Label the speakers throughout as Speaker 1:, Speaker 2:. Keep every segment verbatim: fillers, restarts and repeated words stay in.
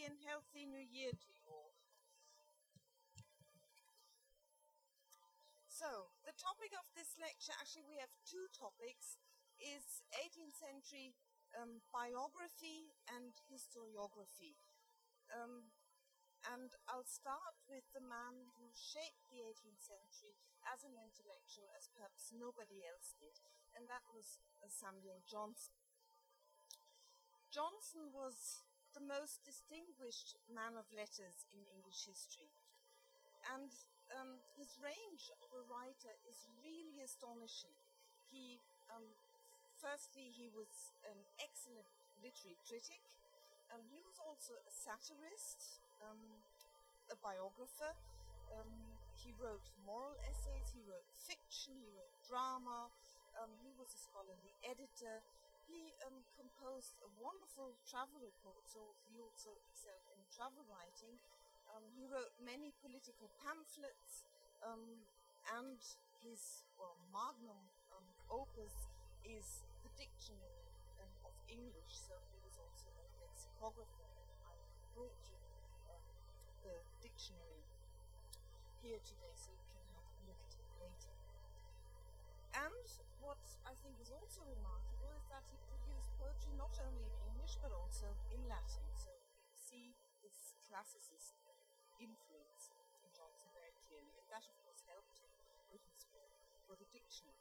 Speaker 1: and healthy New Year to you all. So, the topic of this lecture, actually we have two topics, is eighteenth century um, biography and historiography. Um, and I'll start with the man who shaped the eighteenth century as an intellectual as perhaps nobody else did, and that was uh, Samuel Johnson. Johnson was the most distinguished man of letters in English history, and um, his range of a writer is really astonishing. He, um, firstly, he was an excellent literary critic. Um, he was also a satirist, um, a biographer. Um, he wrote moral essays, he wrote fiction, he wrote drama. Um, he was a scholarly editor. He um, composed a wonderful travel report, so he also excelled in travel writing. Um, he wrote many political pamphlets, um, and his well, magnum um, opus is the diction um, of English. So he was also a lexicographer. I brought you um, the dictionary here today, so you can have a look at it later. And what I think is also remarkable is that he produced poetry not only in English but also in Latin. So you see this classicist influence in Johnson very clearly, and that of course helped him with his work for the dictionary.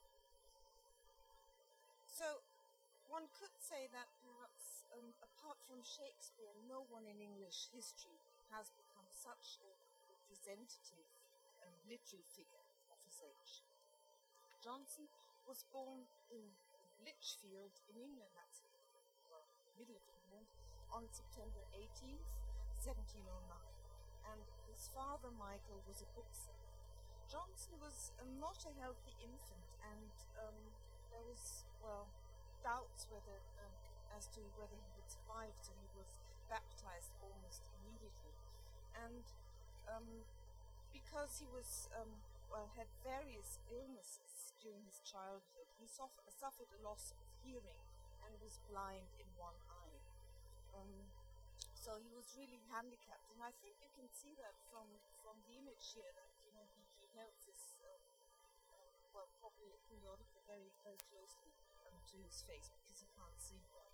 Speaker 1: So one could say that perhaps um, apart from Shakespeare, no one in English history has become such a representative um, literary figure of his age. Johnson was born in Lichfield in England, that's in the middle of England, on September eighteenth, seventeen oh nine. And his father, Michael, was a bookseller. Johnson was um, not a healthy infant, and um, there was, well, doubts whether um, as to whether he would survive, so he was baptized almost immediately. And um, because he was, um, well, had various illnesses during his childhood, he suffered, suffered a loss of hearing and was blind in one eye. Um, So he was really handicapped, and I think you can see that from from the image here that you know he, he held this uh, uh, well probably a periodical very very closely um, to his face because he can't see well.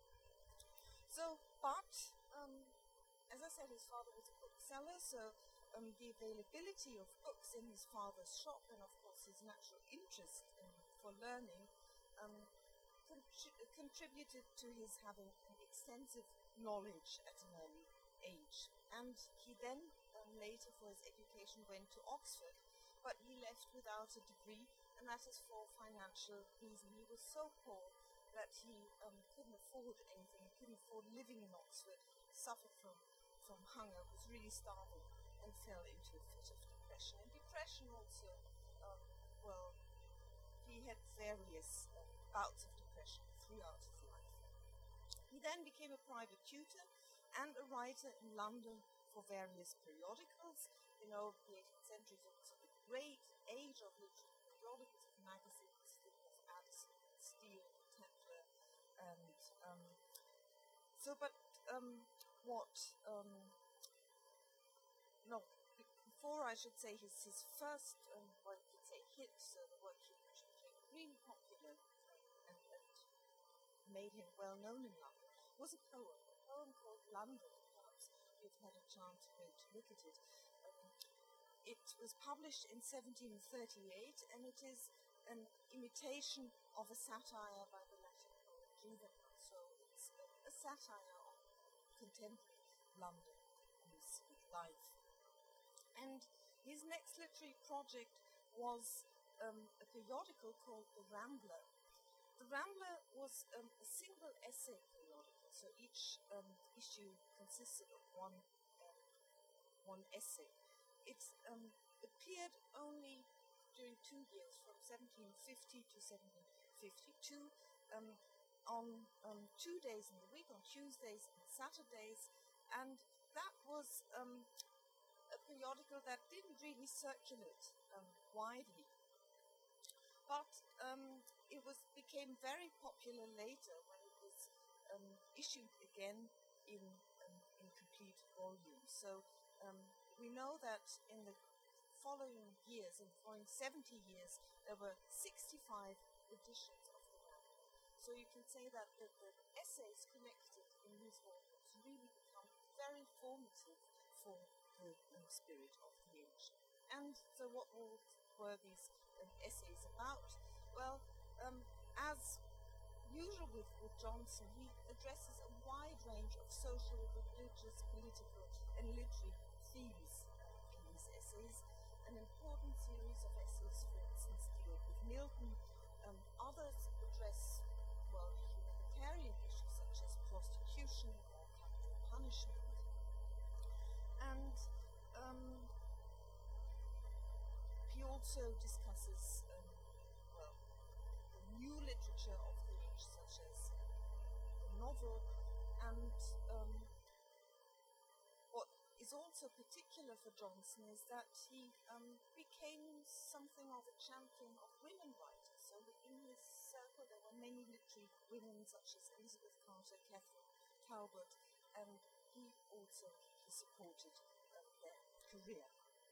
Speaker 1: So, but um, as I said, his father was a bookseller, so um, the availability of books in his father's shop, and of course his natural interest in, for learning. Um, contributed to his having an extensive knowledge at an early age. And he then, um, later for his education, went to Oxford, but he left without a degree, and that is for financial reasons. He was so poor that he um, couldn't afford anything, he couldn't afford living in Oxford, suffered from, from hunger, was really starving, and fell into a fit of depression. And depression also, um, well, he had various uh, bouts of depression throughout his life. He then became a private tutor and a writer in London for various periodicals. You know, the eighteenth century is also the great age of literary periodicals, of magazines, of Addison, Steele, Tetler, and um, so. But um, what? Um, no. Before I should say his his first, um, what you could say, hit, so the work he became really popular and, and made him well known in London, was a poem, a poem called London. Perhaps you've had a chance to, to look at it. Um, it was published in seventeen thirty-eight, and it is an imitation of a satire by the Latin poet Juvenal. So it's a, a satire on contemporary London and his life. And his next literary project was um, a periodical called The Rambler. The Rambler was um, a single essay periodical, so each um, issue consisted of one um, one essay. It um, appeared only during two years, from seventeen fifty to seventeen fifty-two, um, on um, two days in the week, on Tuesdays and Saturdays, and that was um, a periodical that didn't really circulate um, widely. But um, it was became very popular later when it was um, issued again in um, in complete volume. So um, we know that in the following years, in the following seventy years, there were sixty-five editions of the work. So you can say that the, the essays collected in these volumes really become very formative for the um, spirit of the age. And so what were, were these um, essays about? Well, um, as usual with, with Johnson, he addresses a wide range of social, religious, political, and literary themes in these essays. An important series of essays, for instance, deal with Milton. Um, others address, well, humanitarian issues such as prostitution or capital punishment. And um, he also discusses um, well, the new literature of the age, such as the novel, and um, what is also particular for Johnson is that he um, became something of a champion of women writers. So in his circle there were many literary women such as Elizabeth Carter, Catherine Talbot, and he also he supported um, their career.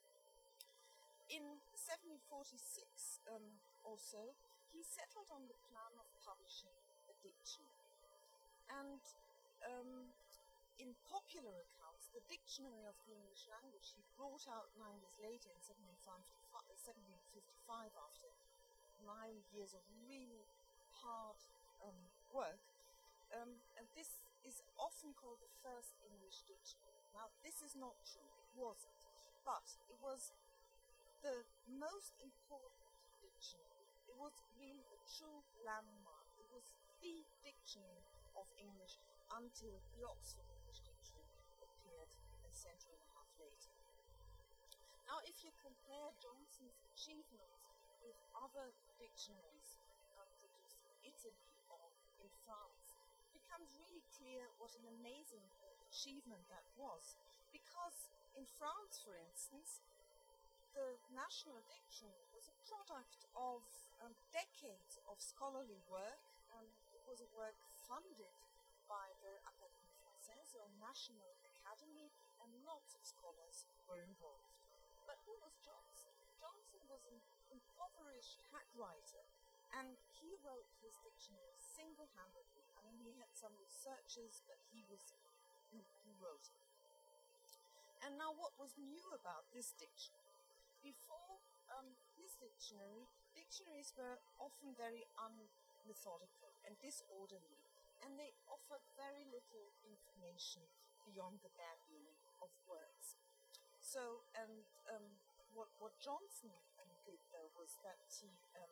Speaker 1: In seventeen forty-six um, also, he settled on the plan of publishing a dictionary. And um, in popular accounts, the Dictionary of the English Language he brought out nine years later in seventeen fifty-five after nine years of really hard um, work. Um, and this is often called the first English dictionary. Now, this is not true, it wasn't. But it was the most important dictionary. It was really a true landmark. It was the dictionary of English until the Oxford English Dictionary appeared a century and a half later. Now, if you compare Johnson's achievements with other dictionaries um, produced in Italy or in France, it becomes really clear what an amazing achievement that was. Because in France, for instance, the National Dictionary was a product of um, decades of scholarly work, and it was a work funded by the Académie Française, or National Academy, and lots of scholars were involved. But who was Johnson? Johnson was an impoverished hack writer, and he wrote his dictionary single-handedly. I mean, he had some researchers, but he was who, who wrote it. And now what was new about this dictionary? Before um, his dictionary, dictionaries were often very unmethodical and disorderly, and they offered very little information beyond the bare meaning of words. So, and um, what, what Johnson um, did, though, was that he, um,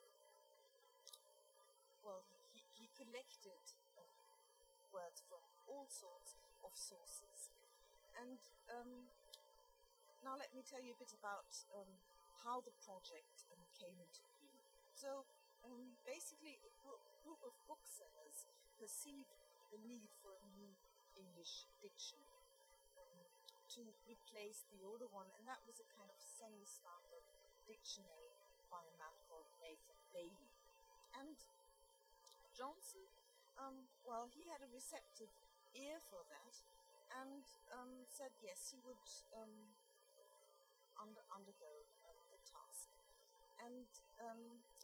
Speaker 1: well, he, he collected uh, words from all sorts of sources. And um, now let me tell you a bit about um, how the project um, came into being. So um, basically a group, group of booksellers perceived the need for a new English dictionary um, to replace the older one, and that was a kind of semi-standard dictionary by a man called Nathan Bailey. And Johnson, um, well, he had a receptive ear for that, and um, said yes, he would um, under, undergo uh, the task. And um,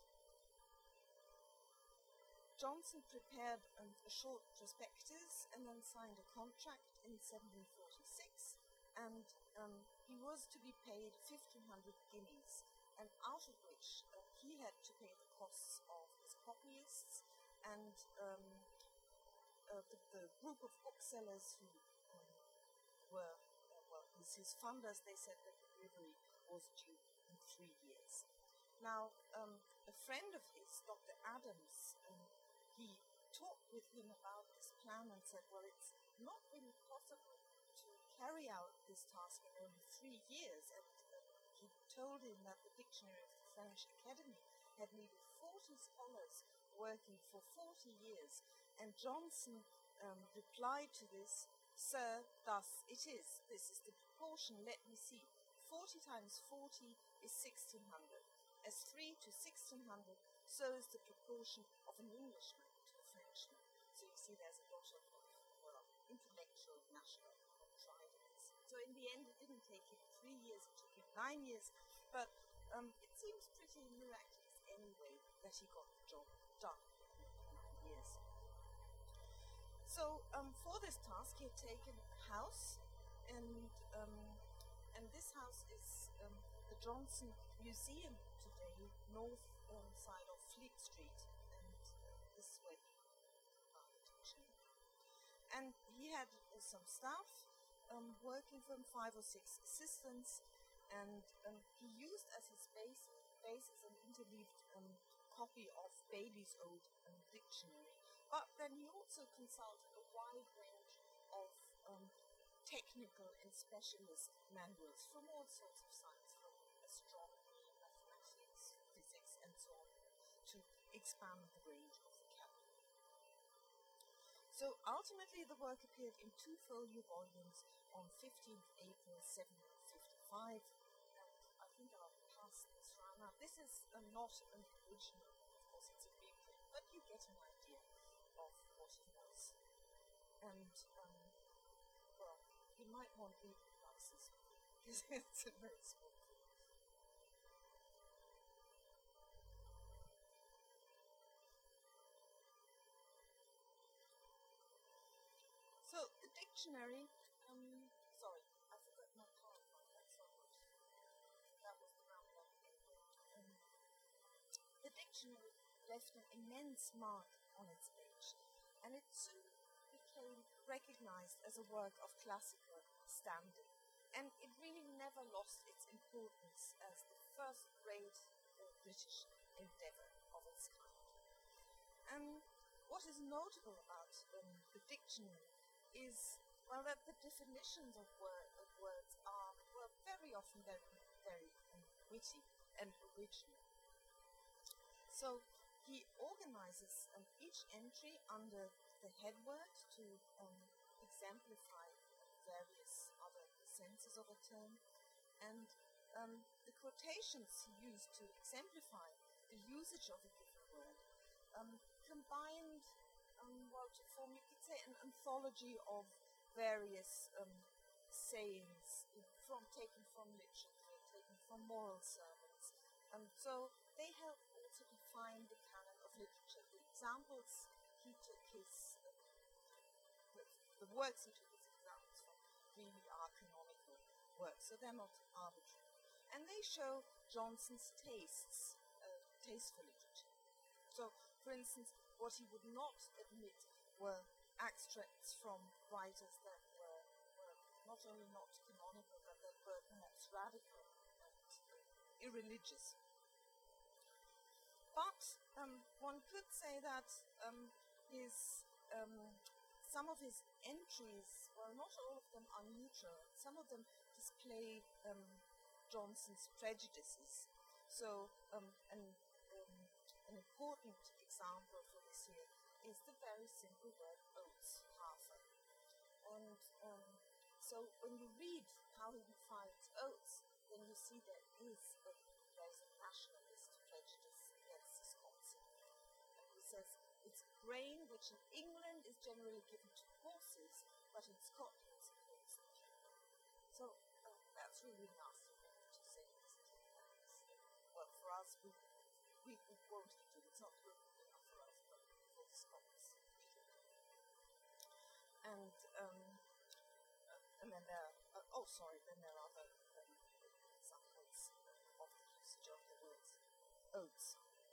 Speaker 1: Johnson prepared um, a short prospectus and then signed a contract in seventeen forty-six, and um, he was to be paid fifteen hundred guineas, and out of which uh, he had to pay the costs of his copyists and um, uh, the, the group of booksellers who um, were, uh, well, his, his funders. They said that the delivery was due in three years. Now, um, a friend of his, Doctor Adams, um, he talked with him about this plan and said, well, it's not really possible to carry out this task in only three years. And uh, he told him that the Dictionary of the French Academy had nearly forty scholars working for forty years. And Johnson um, replied to this, "Sir, thus it is. This is the proportion. Let me see. forty times forty is sixteen hundred. As three to sixteen hundred, so is the proportion of an Englishman to a Frenchman." So you see there's a lot of, well, intellectual, national pride in So in the end, it didn't take him three years, it took him nine years, but um, it seems pretty miraculous anyway that he got the job done in nine years. So um, for this task, he had taken a house, and um, and this house is um, the Johnson Museum today, north um, side of Fleet Street, and uh, this is where he architecture. And he had uh, some staff um, working for him, five or six assistants, and um, he used as his base, basis an interleaved um, copy of Bailey's old um, dictionary. But then he also consulted a wide range of um, technical and specialist manuals from all sorts of science, from astronomy, mathematics, physics, and so on, to expand the range of vocabulary. So ultimately the work appeared in two folio volumes on fifteenth April seventeen fifty-five, and I think I'll pass this round. Now this is uh, not an original, of course it's a reprint, but you get an idea of what it was. And um, well, you might want reading glasses because it's a very small print. So the dictionary, um, sorry, I forgot my PowerPoint, that's not good. That was the round one. Um, the dictionary left an immense mark on its page, and it soon became recognized as a work of classical standing. And it really never lost its importance as the first great uh, British endeavor of its kind. And what is notable about um, the dictionary is, well, that the definitions of, word, of words are, well, very often very, very um, witty and original. So he organizes um, each entry under the head word to um, exemplify various other senses of a term, and um, the quotations he used to exemplify the usage of a given word um, combined, um, well, to form, you could say, an anthology of various um, sayings from taken from literature, taken from moral sermons, and so they help also define the canon of literature. The examples he took his, uh, the works he took his examples from really are canonical works, so they're not arbitrary. And they show Johnson's tastes, uh, taste for literature. So, for instance, what he would not admit were extracts from writers that were, were not only not canonical, but that were perhaps radical and irreligious. But um, one could say that um, his um, some of his entries, well, not all of them are neutral. Some of them display um, Johnson's prejudices. So, um, an, um, an important example for this here is the very simple word oats, hafer. And um, so, when you read how he defines oats, then you see there is a, there's a nationalist prejudice against this concept. And he says, it's grain which in England is generally given to horses, but in Scotland it's given to people. So uh, that's really nasty for him to say, isn't it? Well, for us, we, we, we won't eat it. It's not good enough for us, but for the Scots. And, um, uh, and then there are, uh, oh, sorry, then there are other um, examples of the usage of the words oats.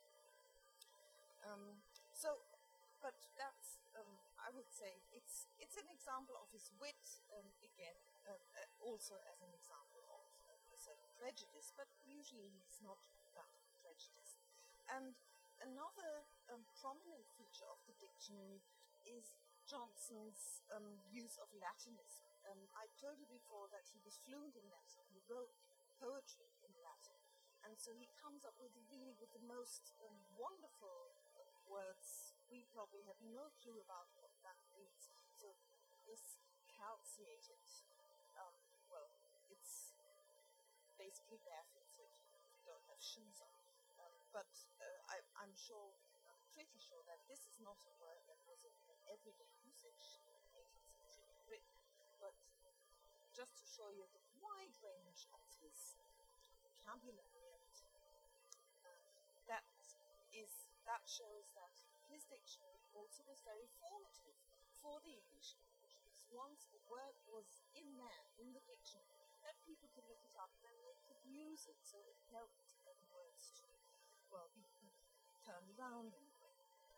Speaker 1: Um, so, but that's, um, I would say, it's it's an example of his wit, um, again, uh, uh, also as an example of uh, a certain prejudice, but usually he's not that prejudiced. And another um, prominent feature of the dictionary is Johnson's um, use of Latinism. Um, I told you before that he was fluent in Latin, he wrote poetry in Latin, and so he comes up with really with the most um, wonderful words. We probably have no clue about what that means. So this calciated, um, well, it's basically barefoot, so if you don't have shoes on. Um, but uh, I, I'm sure, I'm pretty sure that this is not a word that was in everyday usage in eighteenth century Britain. But just to show you the wide range of his vocabulary, and that is that shows that his dictionary also was very formative for the English language, because once a word was in there, in the dictionary, then people could look it up and then they could use it, so it helped um, words to, well, be turned around in a way.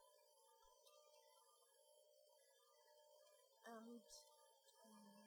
Speaker 1: And um,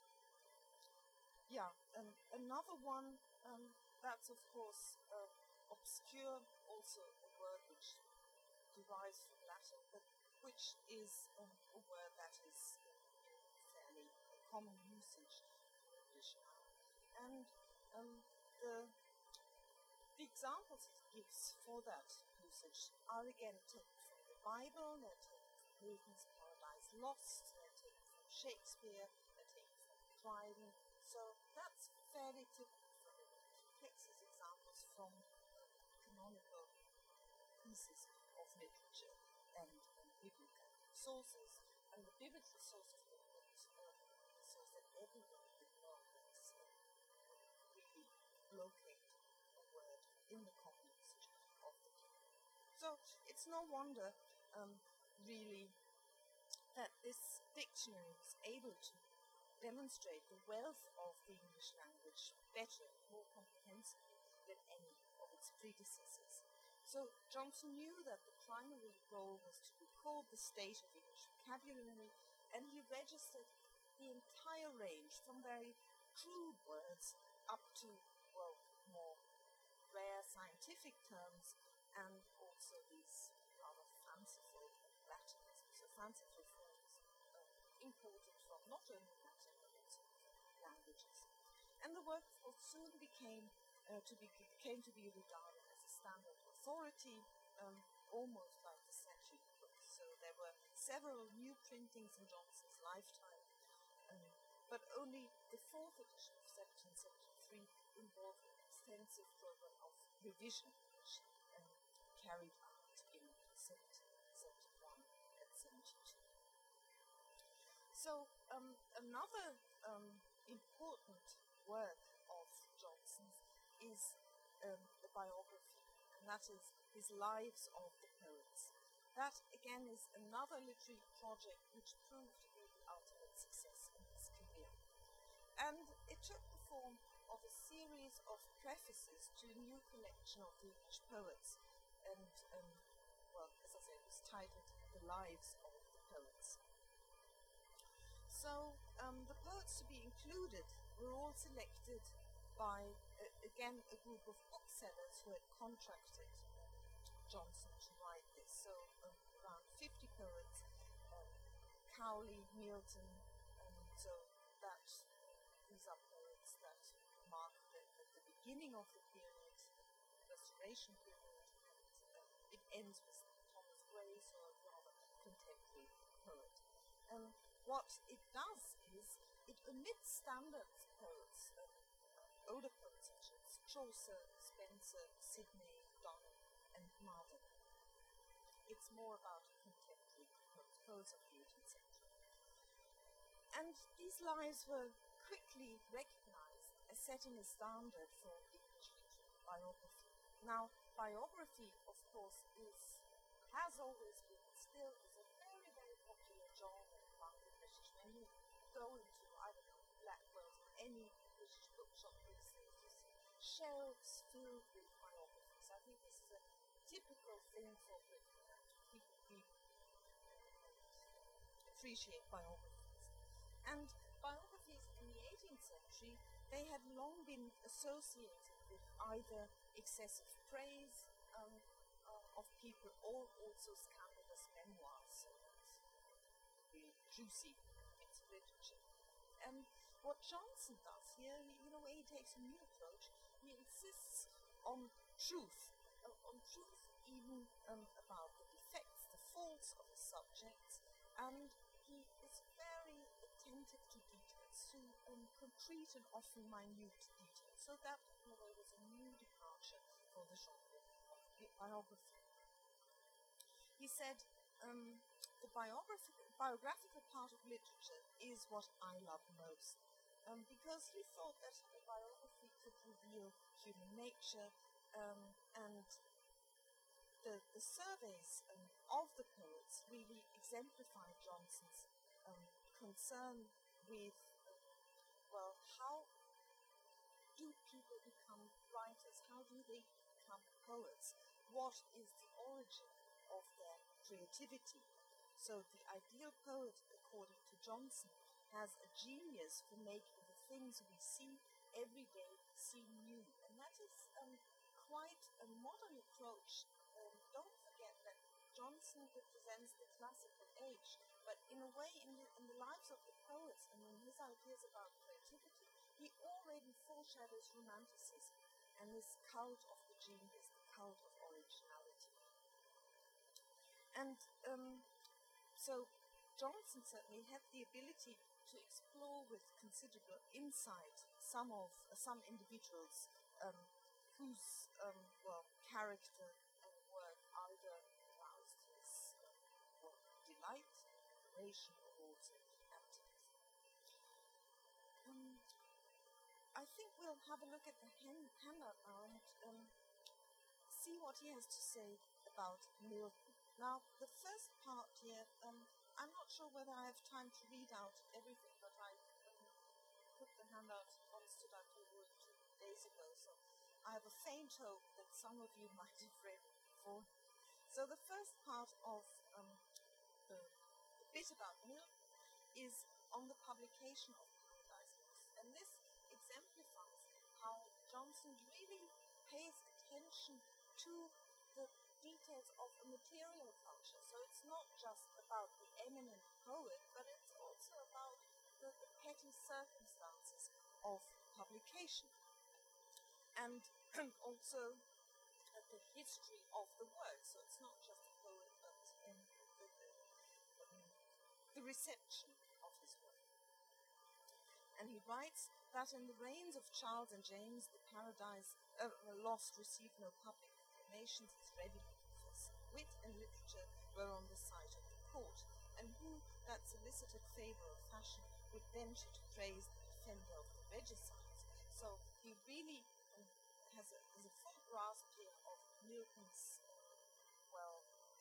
Speaker 1: yeah, um, another one um, that's of course uh, obscure, also a word which derives from Latin, but which is um, a word that is in fairly common usage in English now. And um, the, the examples it gives for that usage are again taken from the Bible, they're taken from Milton's Paradise Lost, they're taken from Shakespeare, they're taken from Dryden. So that's fairly typical for him. He takes his examples from um, canonical pieces of literature and um, biblical sources, and the biblical sources that uh, says that everybody would more or less uh, really locate a word in the common usage of the people. So it's no wonder, um, really, that this dictionary was able to demonstrate the wealth of the English language better, more comprehensively than any of its predecessors. So Johnson knew that the primary goal was to record the state of English vocabulary, and he registered the entire range from very crude words up to, well, more rare scientific terms, and also these rather fanciful Latin, so fanciful forms uh, imported from not only Latin but also languages. And the work, of course, soon became uh, to be came to be regarded as a standard authority, um, almost like the statute book. So there were several new printings in Johnson's lifetime, um, but only the fourth edition of seventeen seventy-three involved an extensive program of revision, which um, carried out in seventeen seventy-one and seventy-two. So um, another um, important work of Johnson's is um, the biography, and that is his Lives of the Poets. That, again, is another literary project which proved to be the ultimate success in his career. And it took the form of a series of prefaces to a new collection of the English poets, and, um, well, as I said, it was titled The Lives of the Poets. So um, the poets to be included were all selected by, uh, again, a group of booksellers who had contracted Johnson to write this. So um, around fifty poets, um, Cowley, Milton, and so that these are poets that mark the, the, the beginning of the period, the Restoration period, and uh, it ends with Thomas Gray, so a rather contemporary poet. Um, what it does is it omits standard poets, um, older poets such as Chaucer, Spenser, Sidney, Donne, and Marden. It's more about contemporary poets of the eighteenth century. And these lives were quickly recognized as setting a standard for English literary biography. Now, biography, of course, is has always been, still is a very, very popular genre among the British. When you go into, I don't know, Blackwell's or any British bookshop these days, you see shelves filled with biographies. I think this is a typical thing for Britain, that people read and appreciate biographies. And biographies in the eighteenth century, they had long been associated with either excessive praise um, uh, of people or also scandalous memoirs, so that's really juicy bits of literature. And what Johnson does here, he, in a way, he takes a new approach. He insists on truth, uh, on truth even um, about the defects, the faults of the subjects, and he is very attentive to details, to um, concrete and often minute details. So that, in a way, was a new departure for the genre of biography. He said, um, the biographical, biographical part of literature is what I love most. um, because he thought that a biography could reveal human nature, um, and the, the surveys um, of the poets really exemplify Johnson's um, concern with, well, how do people become writers? How do they become poets? What is the origin of their creativity? So the ideal poet, according to Johnson, has a genius for making the things we see every day seem new. And that is um, quite a modern approach. Um, don't forget that Johnson represents the classical age, but in a way, in the, in the lives of the poets and in his ideas about creativity, he already foreshadows romanticism and this cult of the genius, the cult of originality. And um, so Johnson certainly had the ability to explore with considerable insight some of uh, some individuals um, whose um, well character and work either aroused his uh, well, delight, admiration, or also antagonism. Um, I think we'll have a look at the hand, handout now and um, see what he has to say about Milton. Now, the first part here, um, I'm not sure whether I have time to read out everything, but I um, put the handout on Student Wood two days ago, so I have a faint hope that some of you might have read it before. So the first part of um, the, the bit about Milton is on the publication of Paradise Lost, and this exemplifies how Johnson really pays attention to the details of a material culture. So it's not just about the eminent poet, but it's also about the, the petty circumstances of publication, and also uh, the history of the work. So it's not just the poet, but um, the, the, um, the reception of his work. And he writes that in the reigns of Charles and James, the Paradise uh, Lost received no public acclamations as readily confessed. Wit and literature were on the side of the court, and who that solicited favour of fashion would venture to praise the defender of the regicides? So he really um, has, a, has a full grasp here of Milton's, well,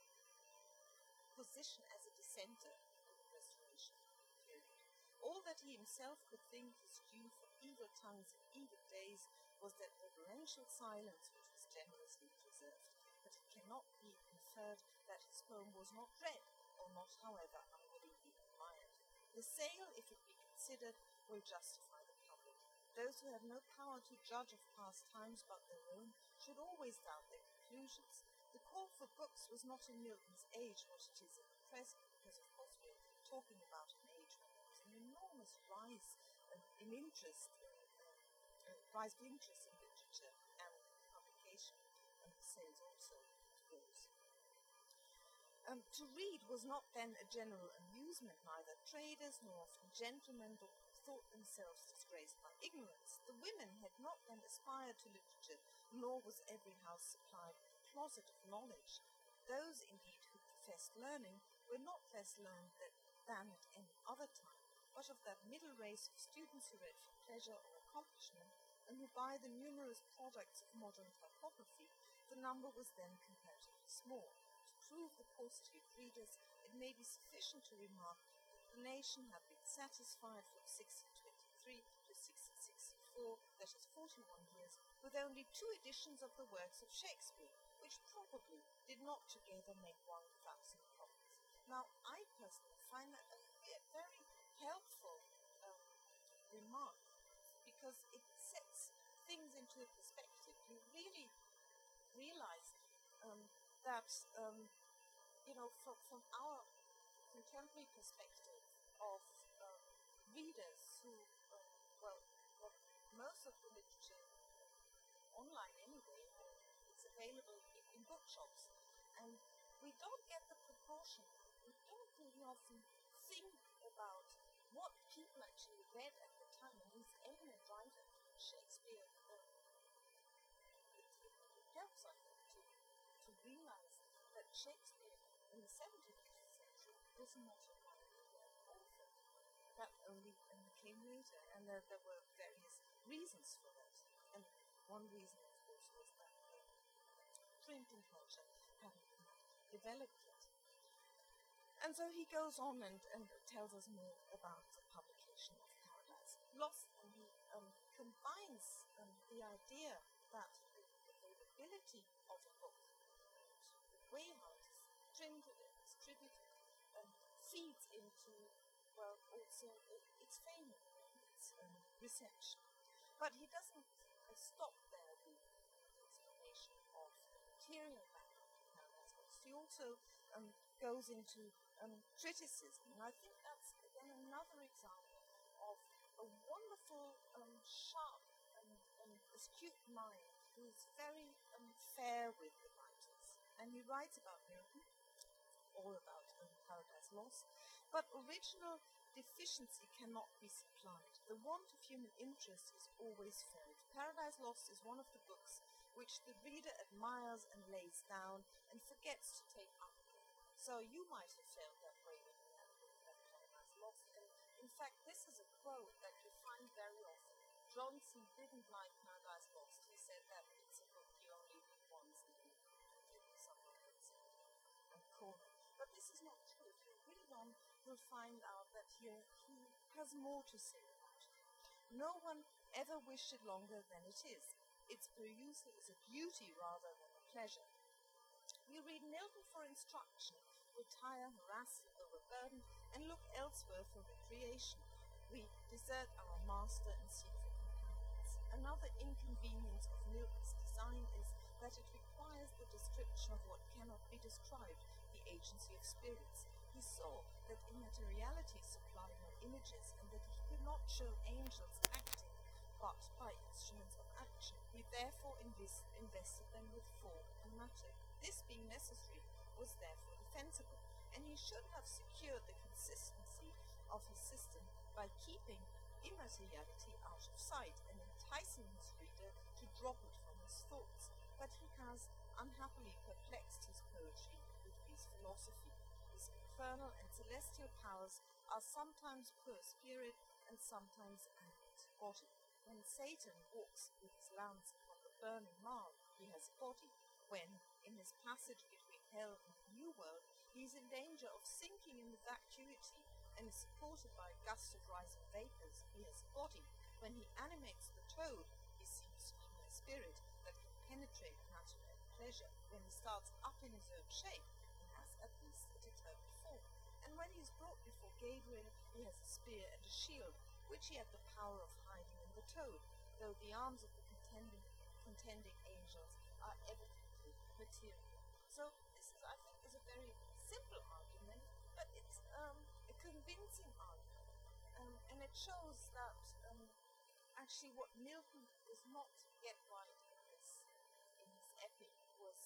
Speaker 1: position as a dissenter in the Restoration period. All that he himself could think his due for evil tongues and evil days was that reverential silence which was generously preserved. But it cannot be inferred that his poem was not read, or not, however, unwillingly admired. The sale, if it be considered, will justify the public. Those who have no power to judge of past times but their own should always doubt their conclusions. The call for books was not in Milton's age what it is at the present, because of course we're talking about an age when there was an enormous rise uh, in interest, uh, uh, rise of interest in literature and publication, and the sales also rose. Um, to read was not then a general amusement. Neither traders nor often gentlemen thought themselves disgraced by ignorance. The women had not then aspired to literature, nor was every house supplied with a closet of knowledge. Those, indeed, who professed learning were not less learned than at any other time, but of that middle race of students who read for pleasure or accomplishment, and who buy the numerous products of modern typography, the number was then comparatively small. To prove the paucity of readers, it may be sufficient to remark that the nation had been satisfied from sixteen twenty-three to sixteen sixty-four, that is forty-one years, with only two editions of the works of Shakespeare, which probably did not together make one thousand copies. Now, I personally find that a very helpful um, remark, because it sets things into perspective. You really realize um, that, um, you know, from, from our contemporary perspective of um, readers who, uh, well, well, most of the literature online anyway, it's available in, in bookshops, and we don't get the proportion. We don't really often think about what people actually read at the time. And these eminent writers, Shakespeare, uh, it, it helps, I think, to, to realize that Shakespeare in the seventeenth century was not a minor author. That only in the came later, and that there were various reasons for that. And one reason, of course, was that the printing culture hadn't developed yet. And so he goes on and, and tells us more about the publication of Paradise Lost, and he um, combines um, the idea that the availability of a book, the way how it is printed and distributed, um, feeds into, well, also its fame and its um, reception. But he doesn't uh, stop there with the explanation of the material background of Paradise Lost. He also um, goes into um, criticism, and I think that's again another example of a wonderful, um, sharp and, and astute mind who is very um, fair with the writers. And he writes about Milton, all about um, Paradise Lost, but original deficiency cannot be supplied. The want of human interest is always felt. Paradise Lost is one of the books which the reader admires and lays down and forgets to take up again. So you might have felt that way when you had a book like Paradise Lost. And in fact, this is a quote that you find very often. Johnson didn't like Paradise Lost. He said that it's a book you only read once and you give something else and corner. But this is not true. If you read on, you'll find out that here he has more to say about it. No one ever wished it longer than it is. Its perusal is a duty rather than a pleasure. We read Milton for instruction, retire harassed and overburdened, and look elsewhere for recreation. We desert our master and seek for companions. Another inconvenience of Milton's design is that it requires the description of what cannot be described, the agency of spirits. He saw that immateriality supplied no images, and that he could not show angels acting, but by instruments of action. He therefore invis- invested them with form and matter. This being necessary was therefore defensible, and he should have secured the consistency of his system by keeping immateriality out of sight and enticing his reader to drop it from his thoughts. But he has unhappily perplexed his poetry with his philosophy. His infernal and celestial powers are sometimes pure spirit and sometimes animate body. When Satan walks with his lance upon the burning marl, he has a body. When, in his passage between hell and the new world, he is in danger of sinking in the vacuity and is supported by a gust of rising vapours, he has a body. When he animates the toad, he seems to be a spirit that can penetrate matter and pleasure. When he starts up in his own shape, he has at least a determined form. And when he is brought before Gabriel, he has a spear and a shield, which he had the power of hiding in the toad, though the arms of the contending, contending angels are evidently material. So this is, I think, is a very simple argument, but it's um, a convincing argument, um, and it shows that um, actually what Milton was not yet right in this in his epic was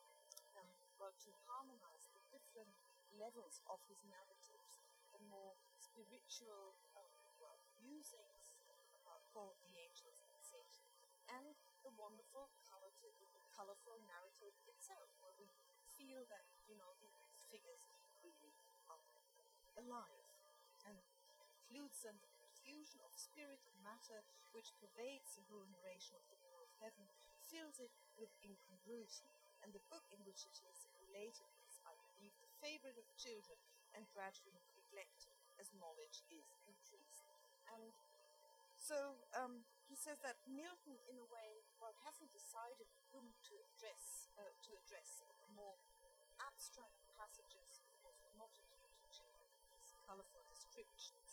Speaker 1: um, well, to harmonize the different levels of his narratives, the more spiritual um, well, musings uh, called the angels and Satan, and the wonderful color to, the colorful narrative itself, where we feel that, you know, these figures really are alive, and includes an fusion of spirit and matter which pervades the whole narration of the War of Heaven, fills it with incongruity, and the book in which it is related is, I believe, the favourite of children and gradually neglected as knowledge is increased. And so um, he says that Milton, in a way, well, hasn't decided whom to address, uh, to address the more abstract passages, of not acute to children. These colourful descriptions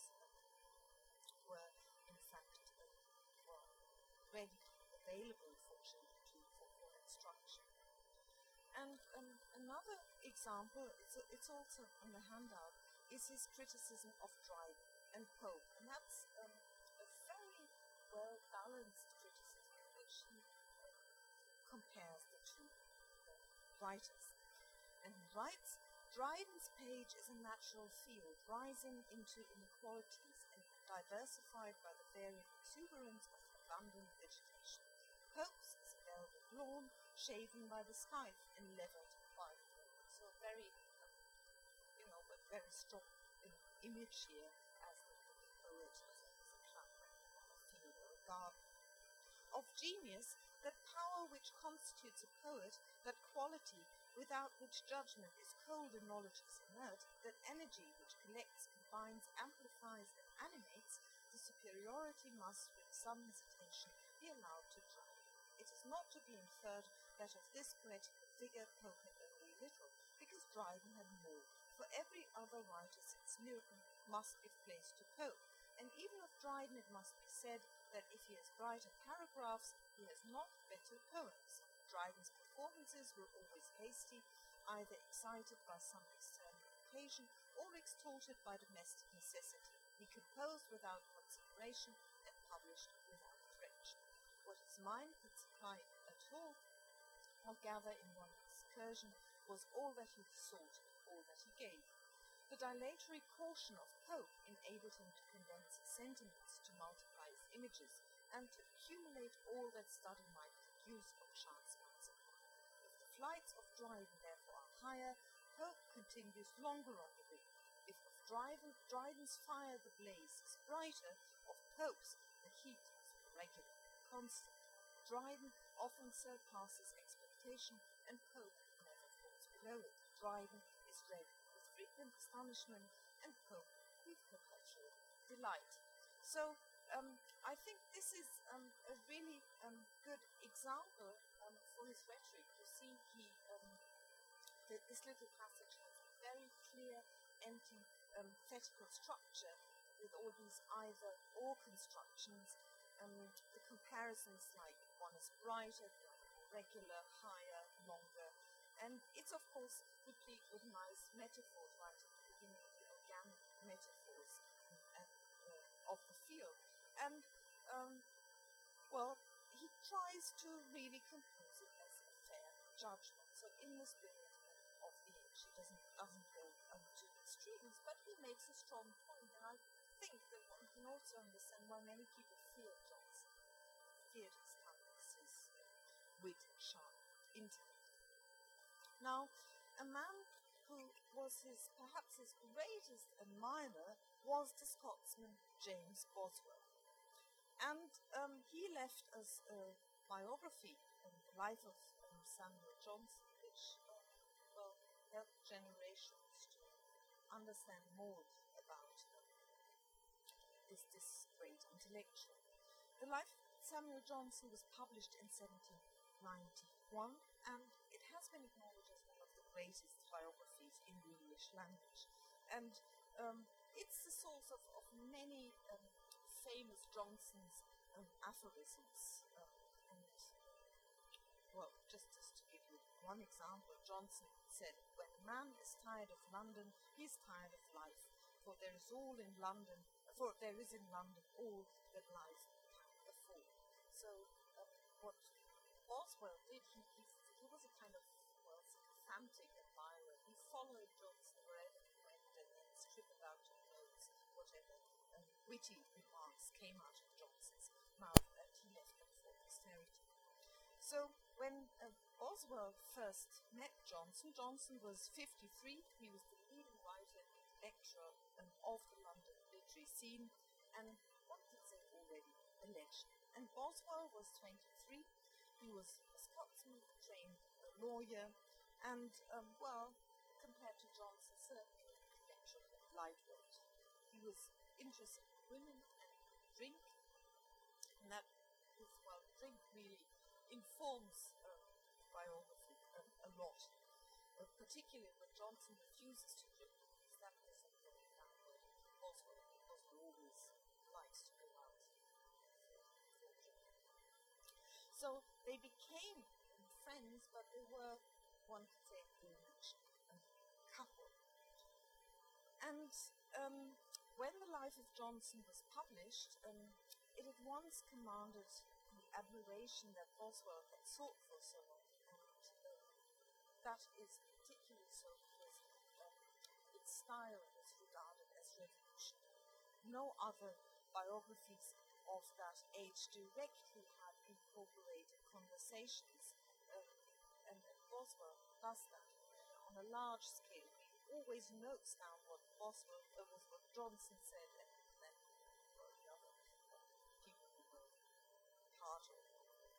Speaker 1: were, in fact, uh, well, ready, available for children to, for, for instruction. And um, another example, it's, it's also on the handout, is his criticism of Dryden and Pope, and that's um, a very well-balanced criticism in which he uh, compares the two uh, writers. And he writes, Dryden's page is a natural field, rising into inequalities and diversified by the varied exuberance of abundant vegetation. Pope's is a velvet lawn, shaven by the scythe and levelled by the wind. So very, um, you know, but very strong um, image here as the poet genius, that power which constitutes a poet, that quality without which judgment is cold and knowledge is inert, that energy which collects, combines, amplifies, and animates, the superiority must, with some hesitation, be allowed to Dryden. It is not to be inferred that of this poetical figure Pope had only little, because Dryden had more, for every other writer since Milton must give place to Pope, and even of Dryden it must be said that if he has brighter paragraphs, he has not better poems. Dryden's performances were always hasty, either excited by some external occasion or extorted by domestic necessity. He composed without consideration and published without correction. What his mind could supply at all or gather in one excursion was all that he sought, all that he gave. The dilatory caution of Pope enabled him to condense his sentiments, to multiply his images, and to accumulate all that study might produce or chance might supply. If the flights of Dryden therefore are higher, Pope continues longer on the wing. If of Dryden, Dryden's fire the blaze is brighter, of Pope's the heat is regular and constant. Dryden often surpasses expectation, and Pope never falls below it. Dryden is read with frequent astonishment, and Pope with perpetual delight. So um, I think this is um, a really um, good example um, for his rhetoric. You see, he um, th- this little passage has a very clear, empty, um, thetical structure with all these either-or constructions. Um, the comparisons, like one is brighter, the other more regular, higher, longer, and it's of course replete with nice metaphors right at the beginning, the organic metaphors uh, uh, of the field. And, um, well, he tries to really compose it as a fair judgment. So in the spirit of the age, he doesn't, doesn't go um, to extremes, but he makes a strong point, and I think that one can also understand why many people fear Johnson, feared his cleverness, his wit, sharp intellect. Now, a man who was his, perhaps his greatest admirer was the Scotsman James Boswell. And um, he left us a biography, um, the life of um, Samuel Johnson, which uh, well, helped generations to understand more about um, this, this great intellectual. The life of Samuel Johnson was published in seventeen ninety-one, and it has been acknowledged as one of the greatest biographies in the English language. And um, it's the source of, of many um, famous Johnson's um, aphorisms. Um, and, well, just, just to give you one example, Johnson said, "When a man is tired of London, he is tired of life, for there is all in London, for there is in London all that life can afford." So uh, what Boswell did, he, he, he was a kind of, well, sycophantic admirer. He followed Johnson wherever he went and then scribbled out in notes whatever um, witty remarks came out of Johnson's mouth, and he left them for posterity. So when uh, Boswell first met Johnson, Johnson was fifty-three. He was the leading writer and lecturer um, of the London literary scene, and one could say already a legend. And Boswell was twenty-three. He was a Scotsman, trained a lawyer, and, um, well, compared to Johnson, certainly intellectual and lightweight. He was interested in women and drink, and that is, well, drink really informs um, biography um, a lot, uh, particularly when Johnson refuses to drink, because that is something that Boswell, Boswell always likes to go out. So they became friends, but they were, one could say, a bewitched um, couple. And um, when the life of Johnson was published, um, it at once commanded the admiration that Boswell had sought for so long. And uh, that is particularly so because um, its style was regarded as revolutionary. No other biographies of that age directly had incorporated conversations, um, and, and Boswell does that uh, on a large scale. He always notes down what Boswell, uh, was what Johnson said, and then well, the other uh, people who were part of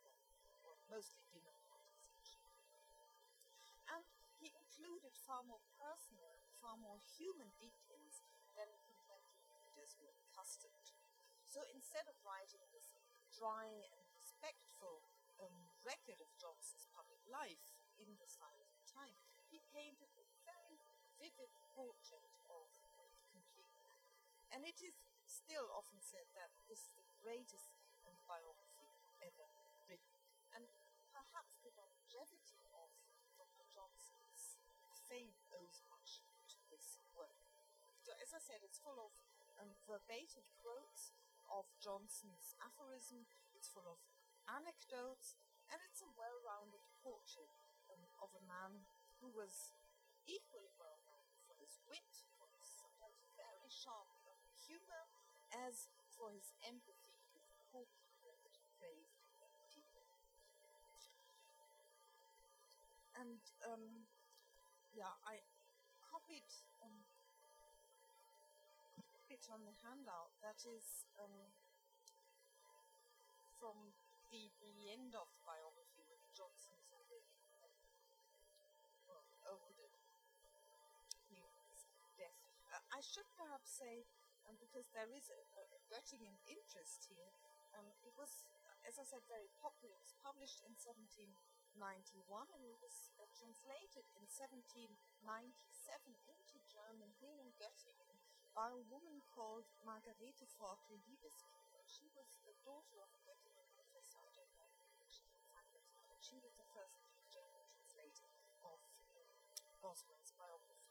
Speaker 1: mostly dinner parties actually. And he included far more personal, far more human details than contemporary readers were accustomed to. So instead of writing this dry and respectful um, record of Johnson's public life in the style of the time, he painted a very vivid portrait of the complete man. And it is still often said that this is the greatest um, biography ever written. And perhaps the longevity of Doctor Johnson's fame owes much to this work. So as I said, it's full of um, verbatim quotes of Johnson's aphorism, it's full of anecdotes, and it's a well-rounded portrait um, of a man who was equally well-known for his wit, for his sometimes very sharp um, humor, as for his empathy with poor people and depraved people. And um, yeah, I copied um, bit on the handout that is um, from the, the end of the biography of Johnson's already well, over the his death. Uh, I should perhaps say, um, because there is a, a Göttingen interest here, um, it was, as I said, very popular. It was published in seventeen ninety-one and it was uh, translated in seventeen ninety-seven into German here in Göttingen by a woman called Margarete Forkel-Liebeskiefer. She was the daughter of a Göttingen professor. I don't know if she can find it, but she was the first German translator of Boswell's biography.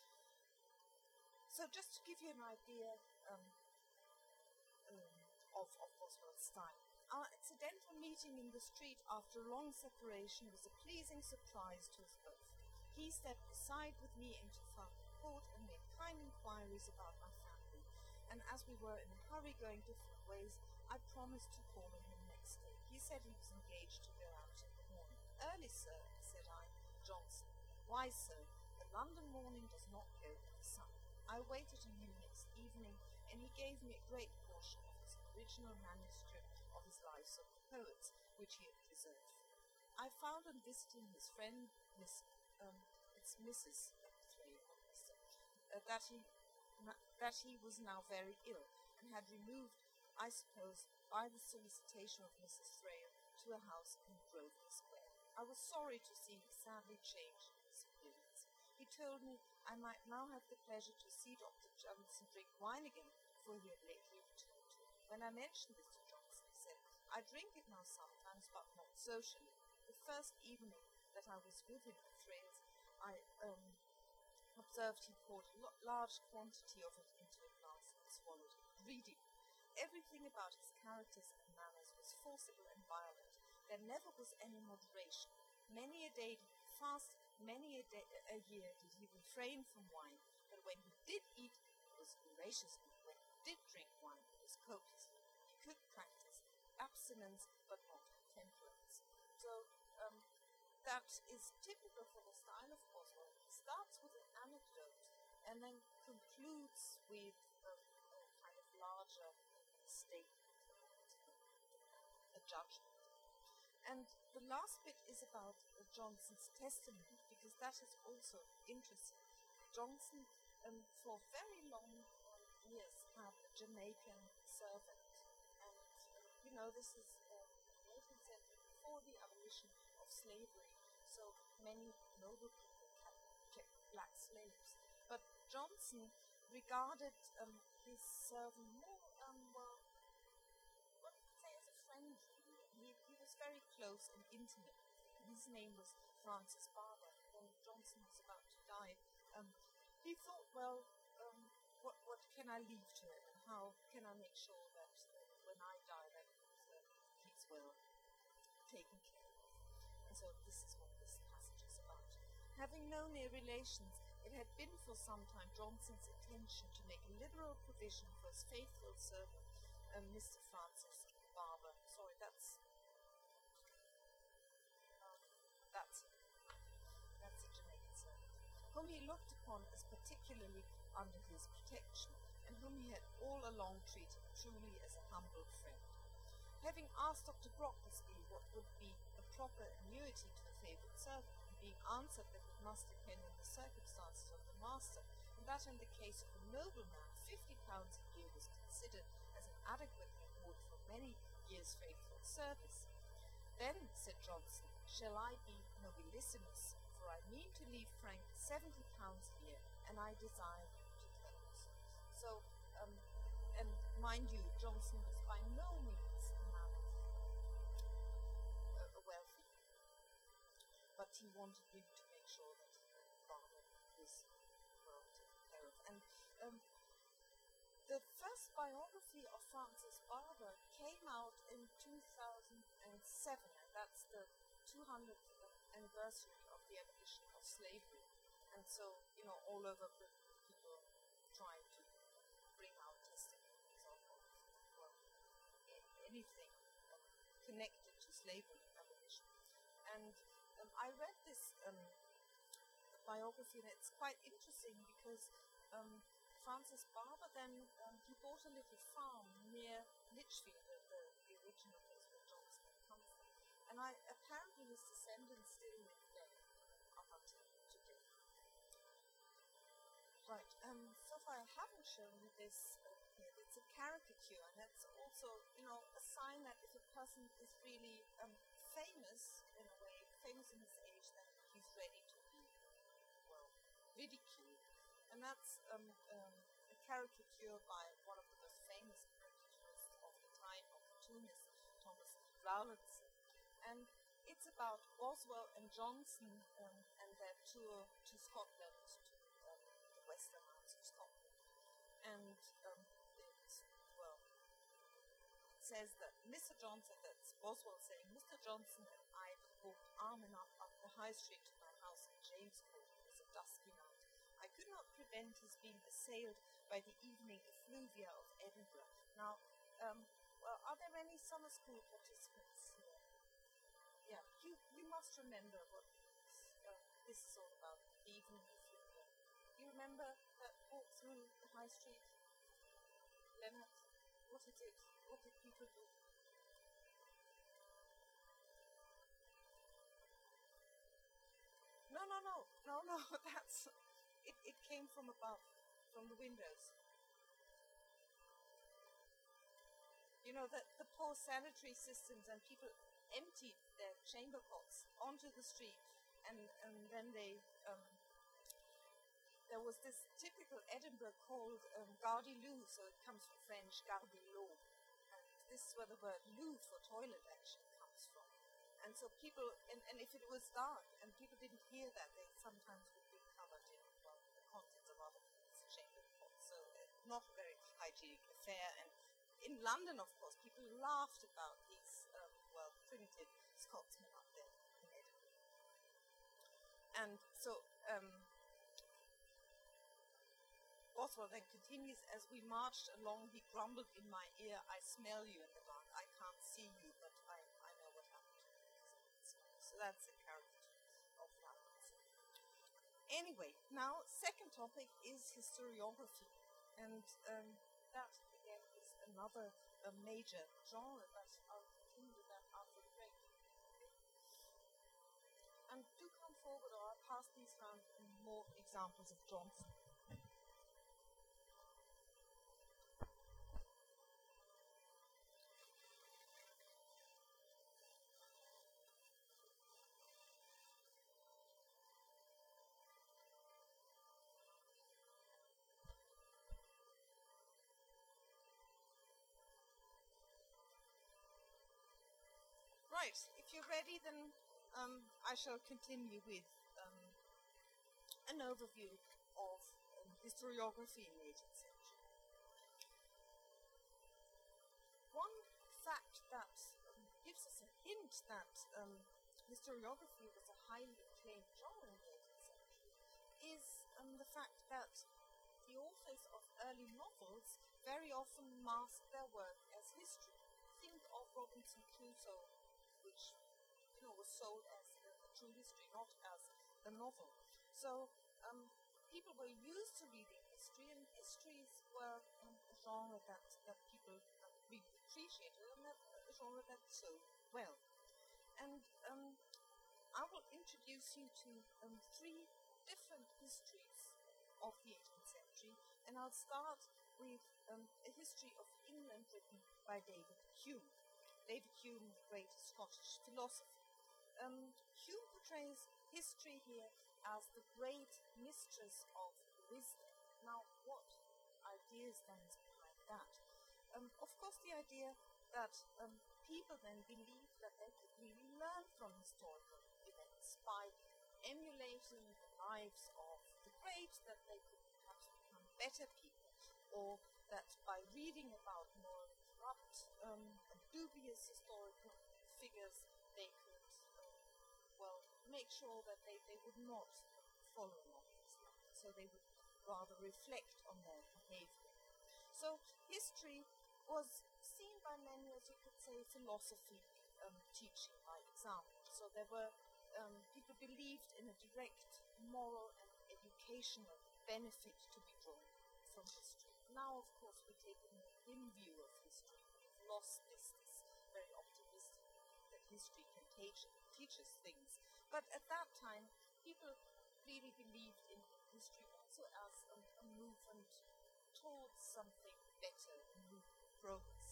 Speaker 1: So just to give you an idea um, um, of, of Boswell's style. Our accidental meeting in the street after a long separation was a pleasing surprise to us both. He stepped aside with me into Falcon Court and made kind inquiries about my family, and as we were in a hurry going different ways, I promised to call on him next day. He said he was engaged to go out in the morning. Early, sir, said I. Johnson. Why, sir? The London morning does not go with the sun. I waited on him next evening, and he gave me a great portion of his original manuscript of his Lives of the Poets, which he had preserved. I found on visiting his friend, Miss, um, it's Missus Uh, that he that he was now very ill, and had removed, I suppose, by the solicitation of Missus Thrale, to a house in Grosvenor Square. I was sorry to see him sadly changed in his appearance. He told me I might now have the pleasure to see Doctor Johnson drink wine again, for he had lately returned to it. When I mentioned this to Johnson, he said, I drink it now sometimes, but not socially. The first evening that I was with him at Thrale's, I um, observed he poured a large quantity of it into a glass and swallowed it, greedily. Everything about his characters and manners was forcible and violent. There never was any moderation. Many a day did he fast, many a, day, a year did he refrain from wine, but when he did eat, it was voraciously. When he did drink wine, it was copiously. He could practice abstinence, but not temperance. So, um, that is typical for the style of Boswell. He starts with an anecdote and then concludes with a, a kind of larger statement, a judgment. And the last bit is about uh, Johnson's testimony, because that is also interesting. Johnson, um, for very long um, years, had a Jamaican servant, and uh, you know this is uh, the eighteenth century, before the abolition of slavery. So many noble people had kept black slaves, but Johnson regarded um, his servant more, um, well, what you could say as a friend. He, he was very close and intimate. His name was Francis Barber. When Johnson was about to die, um, he thought, well, um, what what can I leave to him, and how can I make sure that uh, when I die, that uh, he's well taken care of. And so this is what this passage is about. Having no near relations, it had been for some time Johnson's intention to make a liberal provision for his faithful servant, um, Mister Francis Barber. Sorry, that's um, that's that's a Jamaican servant, whom he looked upon as particularly under his protection, and whom he had all along treated truly as a humble friend. Having asked Doctor Brocklesby what would be a proper annuity to a favourite servant, and being answered that it must depend on the circumstances of the master, and that in the case of a nobleman, fifty pounds a year was considered as an adequate reward for many years' faithful service. Then, said Johnson, shall I be nobilissimus, for I mean to leave Frank seventy pounds a year, and I desire you to take. So, um, and mind you, Johnson was by no means a man of uh, wealthy, but he wanted him to make sure that Barber was well taken care of. And um, the first biography of Francis Barber came out in two thousand seven, and that's the two hundredth anniversary of the abolition of slavery. And so, you know, all over Britain, people trying to bring out testimonies of, well, anything connected to slavery abolition. And um, I read this um, biography, and it's quite interesting because um, Francis Barber then, um, he bought a little farm near Lichfield, the, the, the original place where Johnson had come from. And I, apparently his descendants still live there up until today. Right, um, so far I haven't shown you this uh, here. It's a caricature, and that's also, you know, a sign that if a person is really um, famous, in a way, famous in his age, then he's ready to be, well, ridiculed. And that's um, um, a caricature by one of the most famous caricaturists of the time, of cartoonist, Thomas Rowlandson. And it's about Boswell and Johnson um, and their tour to Scotland, to um, the western lands of Scotland. And um, it, well, it says that Mister Johnson, that's Boswell saying, Mister Johnson and I walked arm in arm up the High Street to my house in Jamescourt. It was a dusky night. I could not prevent his being assailed by the evening effluvia of Edinburgh. Now, um, well, are there any summer school participants here? Yeah, you, you must remember what this, uh, this is all about, the evening effluvia. You remember that walk through the High Street? Leonard, what is it? What did people do? No, no, no, no, no, that's... It, it came from above, from the windows. You know, the, the poor sanitary systems, and people emptied their chamber pots onto the street, and, and then they, um, there was this typical Edinburgh called um, Gardyloo, so it comes from French, Gardilot. And this is where the word loo for toilet actually comes from. And so people, and, and if it was dark and people didn't hear that, they sometimes would be covered in, well, the contents of other people's chamber pots. So uh, not a very hygienic affair. And in London, of course, people laughed about these, um, well, primitive Scotsmen up there in Edinburgh. And so, um, Boswell then continues, as we marched along, he grumbled in my ear, I smell you in the dark, I can't see you, but I, I know what happened to you. So that's a caricature of that. Anyway, now, second topic is historiography. And um, that, again, is another uh, major genre, but I'll continue with that after the break. And do come forward, or I'll pass these around in more examples of Johnson. Right, if you're ready, then um, I shall continue with um, an overview of um, historiography in the eighteenth century. One fact that um, gives us a hint that um, historiography was a highly acclaimed genre in the eighteenth century is um, the fact that the authors of early novels very often mask their work as history. Think of Robinson Crusoe, which, you know, was sold as a, a true history, not as a novel. So um, people were used to reading history, and histories were um, a genre that, that people uh, really appreciated, and that, a genre that sold well. And um, I will introduce you to um, three different histories of the eighteenth century, and I'll start with um, a history of England written by David Hume. David Hume, the great Scottish philosopher. Um, Hume portrays history here as the great mistress of wisdom. Now, what ideas then is behind that? Um, of course, the idea that um, people then believe that they could really learn from historical events by emulating the lives of the great, that they could perhaps become better people, or that by reading about more corrupt um, and dubious historical figures, they could, well, make sure that they, they would not follow along these lines, so they would rather reflect on their behavior. So history was seen by many as, you could say, philosophy um, teaching by example. So there were um, people believed in a direct moral and educational benefit to be drawn from history. Now, of course, we take a more dim view of history. We've lost this, this very optimistic view that history can teach, teach us things. But at that time, people really believed in history also as a, a movement towards something better, a movement of progress.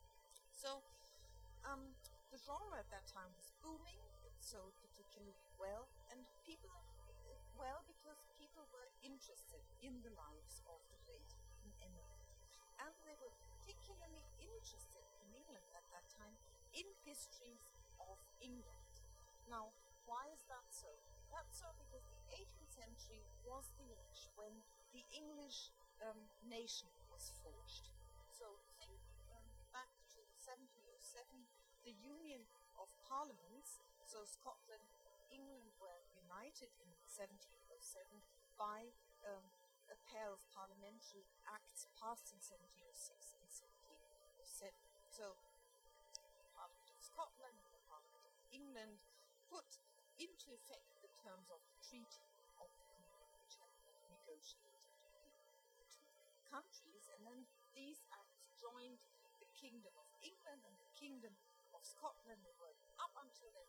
Speaker 1: So um, the genre at that time was booming. It sold particularly well, and people well because people were interested in the lives of the great in England, and they were particularly interested in England at that time in histories of England. Now, why is that so? That's so because the eighteenth century was the age when the English um, nation was forged. So think um, back to seventeen oh seven, the Union of Parliaments. So Scotland and England were united in seventeen oh seven by um, a pair of parliamentary acts passed in seventeen oh six and seventeen oh seven. So the Parliament of Scotland and the Parliament of England put into effect the terms of the Treaty of the Union, which had been negotiated between the two countries, and then these acts joined the Kingdom of England and the Kingdom of Scotland. They were up until then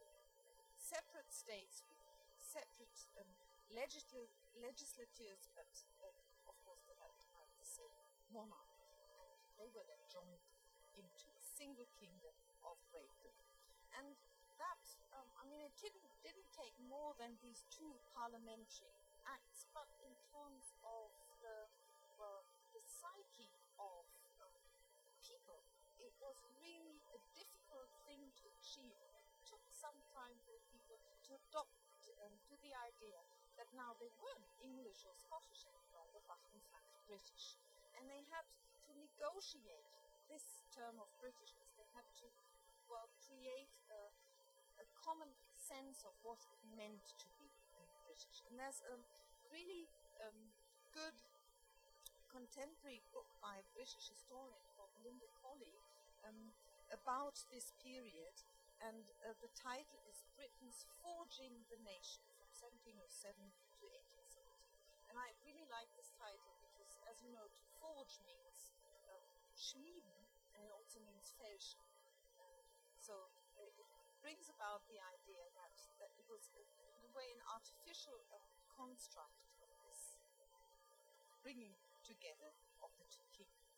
Speaker 1: separate states with separate um, legisl- legislatures, but uh, of course they had to have the same monarch. They were then joined into a single kingdom of Great Britain. And that, um, I mean, it didn't, didn't take more than these two parliamentary acts, but in terms of the, well, the psyche of um, people, it was really a difficult thing to achieve. It took some time for people to adopt um, to the idea that now they weren't English or Scottish any longer, but in fact British. And they had to negotiate this term of Britishness. They had to, well, create a, a common sense of what it meant to be um, British. And there's a really um, good contemporary book by a British historian called Linda Colley um, about this period, and uh, the title is Britain's Forging the Nation from seventeen oh seven to eighteen seventy. And I really like this title because, as you know, to forge means um, schmieden, and it also means fälschen. So it, it brings about the idea that, that it was, in a way, an artificial uh, construct of this bringing together of the two kingdoms.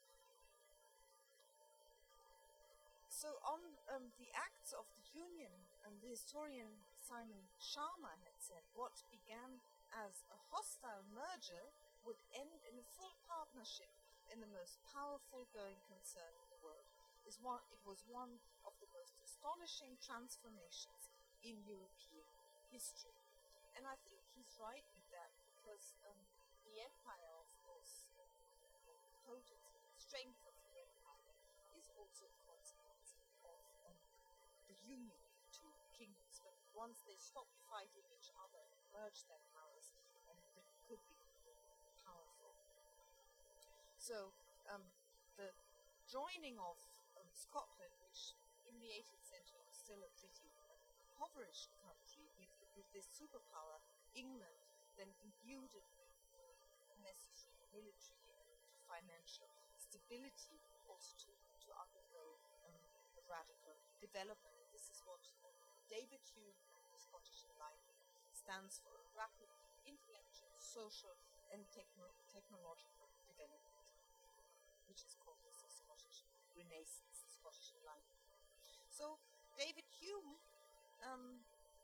Speaker 1: So on um, the Acts of the Union, um, the historian Simon Sharma had said, what began as a hostile merger would end in a full partnership in the most powerful going concern in the world. Is one, it was one of the most astonishing transformations in European history. And I think he's right with that, because um, the empire, of course, the potency, the strength of the empire is also a consequence of um, the union of the two kingdoms. But once they stopped fighting each other and merged their powers, um, Britain could be powerful. So um, the joining of um, Scotland, which in the eighteenth century was still a pretty impoverished country, with, with this superpower, England, then imbued it with necessary military and financial stability, also to, to undergo um, a radical development. This this is what uh, David Hume, the Scottish Enlightenment, stands for: rapid intellectual, social, and techno- technological development, which is called the Scottish Renaissance, the Scottish Enlightenment. So David Hume um,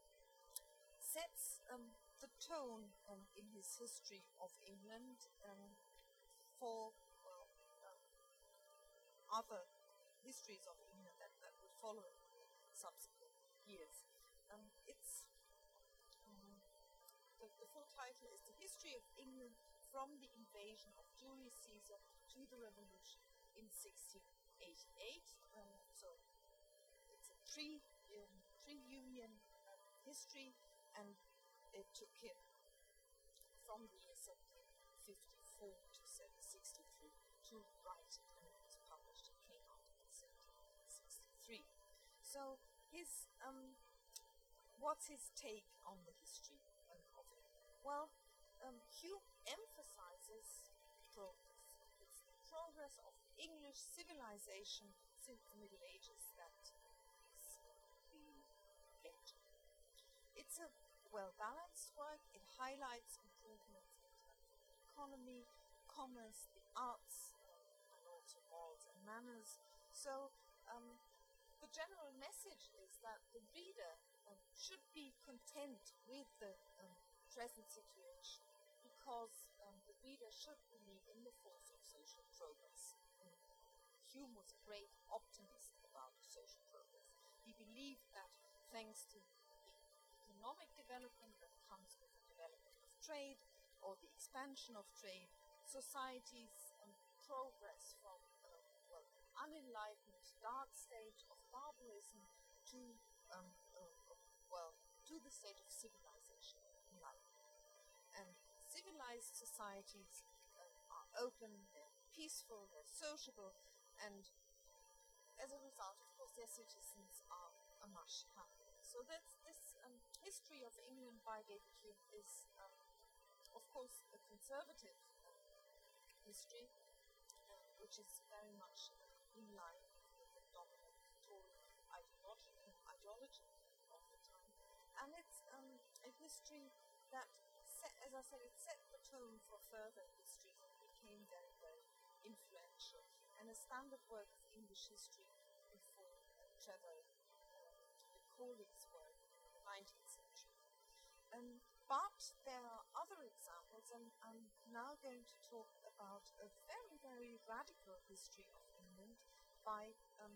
Speaker 1: sets um, the tone um, in his history of England um, for well, um, other histories of England that, that would follow in subsequent years. Um, it's um, the, the full title is The History of England from the Invasion of Julius Caesar to the Revolution in sixteen eighty-eight. Um, so it's a pre um, pre-Union um, history, and it took him from the year seventeen fifty-four to seventeen sixty-three to write it, and it was published. It came out in seventeen sixty-three. So his um, what's his take on the history um, of it? Well, um, Hume emphasizes progress. It's the progress of English civilization since the Middle Ages that is being mentioned. It's a well-balanced work. It highlights improvements in terms of economy, commerce, the arts, um, and also morals and manners. So um, the general message is that the reader um, should be content with the um, present situation, because um, the reader should believe in the force of social progress. Um, Hume was a great optimist about social progress. He believed that thanks to economic development that comes with the development of trade or the expansion of trade, societies um, progress from uh, well, unenlightened dark stage of barbarism to um, uh, well to the state of civilization, enlightenment. And civilized societies uh, are open, they're peaceful, they're sociable, and as a result, of course, their citizens are, are much happier. So that's this um, history of England by David Hume is, um, of course, a conservative uh, history, uh, which is very much in line with the dominant Tory ideology, ideology of the time. And it's um, a history that, set, as I said, it set the tone for further histories and became very, very influential, and a standard work of English history before uh, Trevor Macaulay's work in the nineteenth century. Um, but there are other examples, and I'm now going to talk about a very, very radical history of England by um,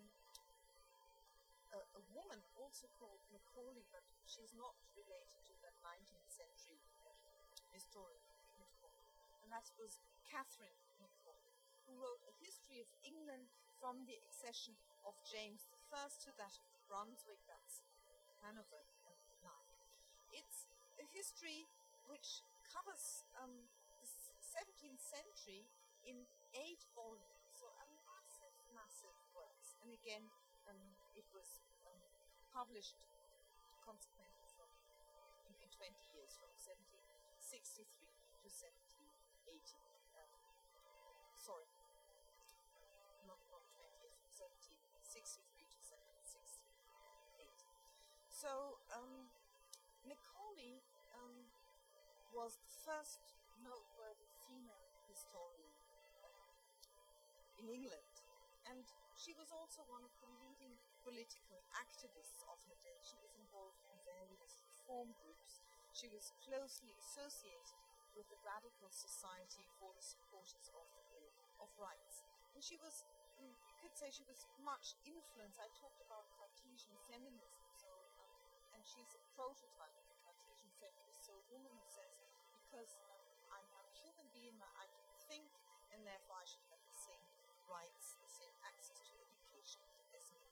Speaker 1: a, a woman also called Macaulay, but she's not related to the nineteenth century historian Macaulay, and that was Catherine Macaulay, who wrote a history of England from the accession of James the First to that of Brunswick, that's Hanover line. It's a history which covers um, the seventeenth century in eight volumes, so a massive, massive works. And again, um, it was um, published consequently from in, in twenty years, from seventeen sixty-three to seventeen eighty. Um, sorry, not, not twenty years, from seventeen sixty-three to seventeen sixty-eight. So, um, Macaulay um, was the first noteworthy female historian um, in England, and she was also one of the leading political activists of her day. She was involved in various reform groups. She was closely associated with the Radical Society for the Supporters of, of Rights, and she was, you could say, she was much influenced. I talked about Cartesian feminism, so um, and she's a prototype of Cartesian feminist. So a woman who says, because um, I'm a human being, I can think, and therefore I should have the same rights, the same access to education as men.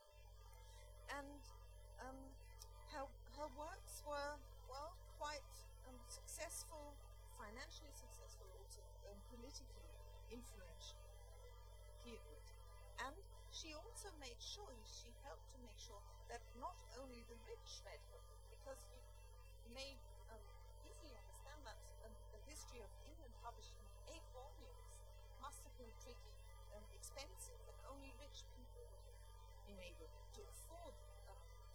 Speaker 1: And um, her, her works were, well, quite um, successful, financially successful, also um, politically influential period. And she also made sure, she helped to make sure that not only the rich read her, because you may um, easily understand that um, the history of England published in eight volumes must have been pretty um, expensive, and only rich people would have been able to afford um,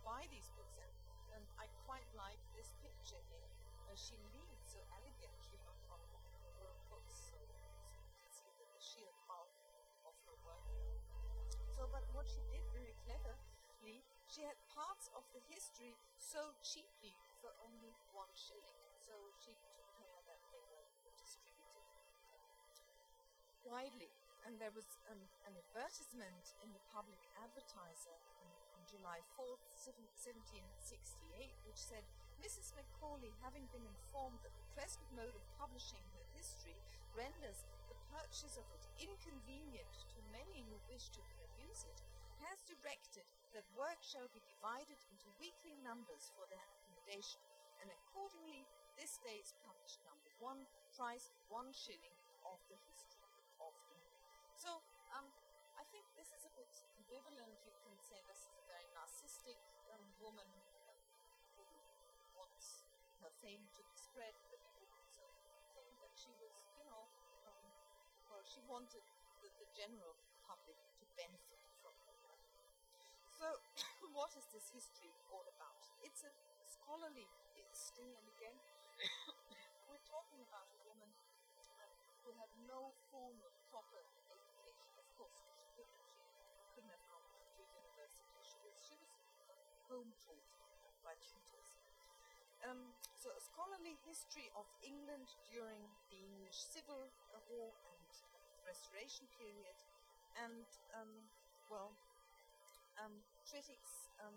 Speaker 1: buy these books. And, and I quite like this picture here. Uh, she leads so elegantly on top of her books, so, so you can see the, the sheer bulk of her work. So, but what she did very cleverly, she had parts of the history so cheaply for only one shilling. So she took care that they were distributed widely. And there was um, an advertisement in the Public Advertiser on, on July fourth, seventeen sixty-eight, which said, Missus Macaulay, having been informed that the present mode of publishing her history renders the purchase of it inconvenient to many who wish to peruse it, has directed that work shall be divided into weekly numbers for their accommodation, and accordingly this day is published number one, price one shilling of the history of England. So, um, I think this is a bit ambivalent. You can say this is a very narcissistic um, woman um, who wants her fame to be spread, but you could also think that she was, you know, um, well, she wanted the, the general public to benefit from her work. So, what is this history all about? It's a scholarly history, and again, we're talking about a woman uh, who had no formal, proper education. Of course, she couldn't, she couldn't have gone to university. She was, she was home taught by tutors. Um, so, a scholarly history of England during the English Civil War and Restoration period, and um, well, um, critics, um,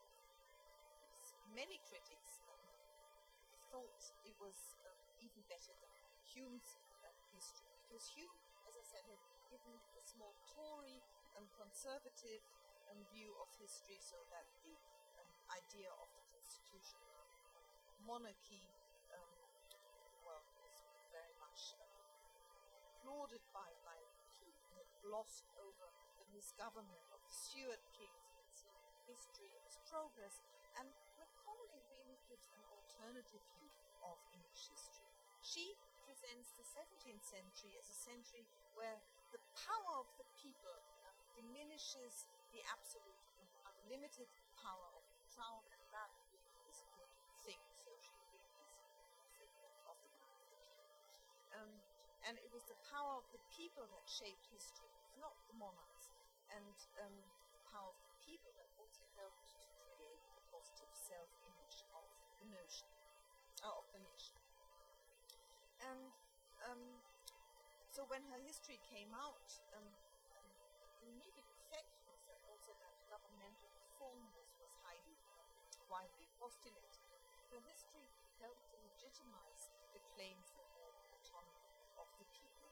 Speaker 1: many critics um, thought it was uh, even better than Hume's uh, history, because Hume, as I said, had given a small Tory and conservative um, view of history, so that the um, idea of the constitutional monarchy, um, well, was very much um, applauded by, by Hume. He had glossed over the misgovernment of the Stuart kings. You can see history and its progress, and Macaulay really gives an alternative view of English history. She presents the seventeenth century as a century where the power of the people um, diminishes the absolute and unlimited power of the crown, and that really is a good thing. So she really is a figure of the power of the people. Um, and it was the power of the people that shaped history, not the monarchs. And um, the power of the people that also helped to create the positive self-image of the notion, uh, of the nation. And um, so when her history came out, um, um, the immediate effect was that also that governmental reform was, was highly um, widely postulated. Her history helped to legitimize the claim for more autonomy of the people.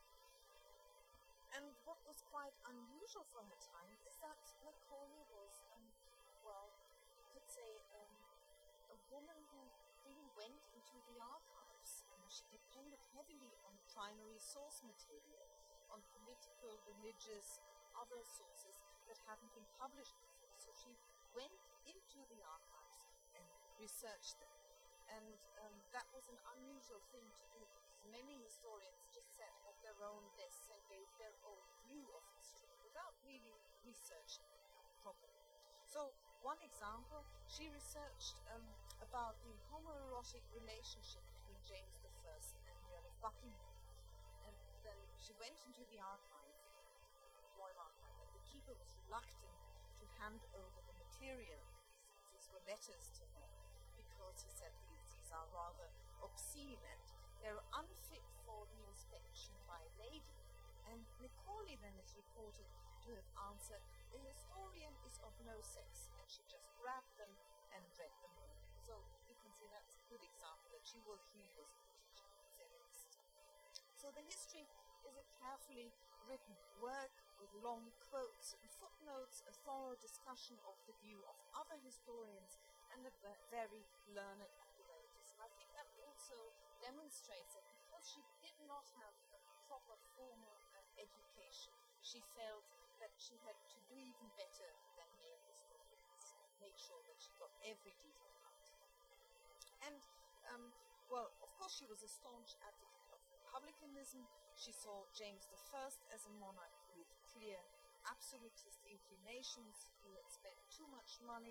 Speaker 1: And what was quite unusual for her time is that Macaulay was, um, well, you could say, um, a woman who really went into the archives. And she depended heavily on primary source material, on political, religious, other sources that hadn't been published before. So she went into the archives and researched them. And um, that was an unusual thing to do, because many historians just sat at their own desks and gave their own view of history without really researching it properly. So, one example, she researched um, about the homoerotic relationship between James the First and the Earl of Buckingham. And then she went into the archive, the Royal Archive, and the keeper was reluctant to hand over the material. These were letters to her, because he said these, these are rather obscene and they're unfit for the inspection by a lady. And Macaulay then is reported to have answered, the historian is of no sex, and she just grabbed them and read them all. So you can see that's a good example that she was, he was a teacher, feminist. So the history is a carefully written work with long quotes and footnotes, a thorough discussion of the view of other historians, and a very learned apparatus. And I think that also demonstrates that because she did not have a proper formal uh, education, she felt that she had to do even better than male historians, make sure that she got every detail right. And, um, well, of course she was a staunch advocate of republicanism. She saw James the First as a monarch with clear absolutist inclinations, who had spent too much money, who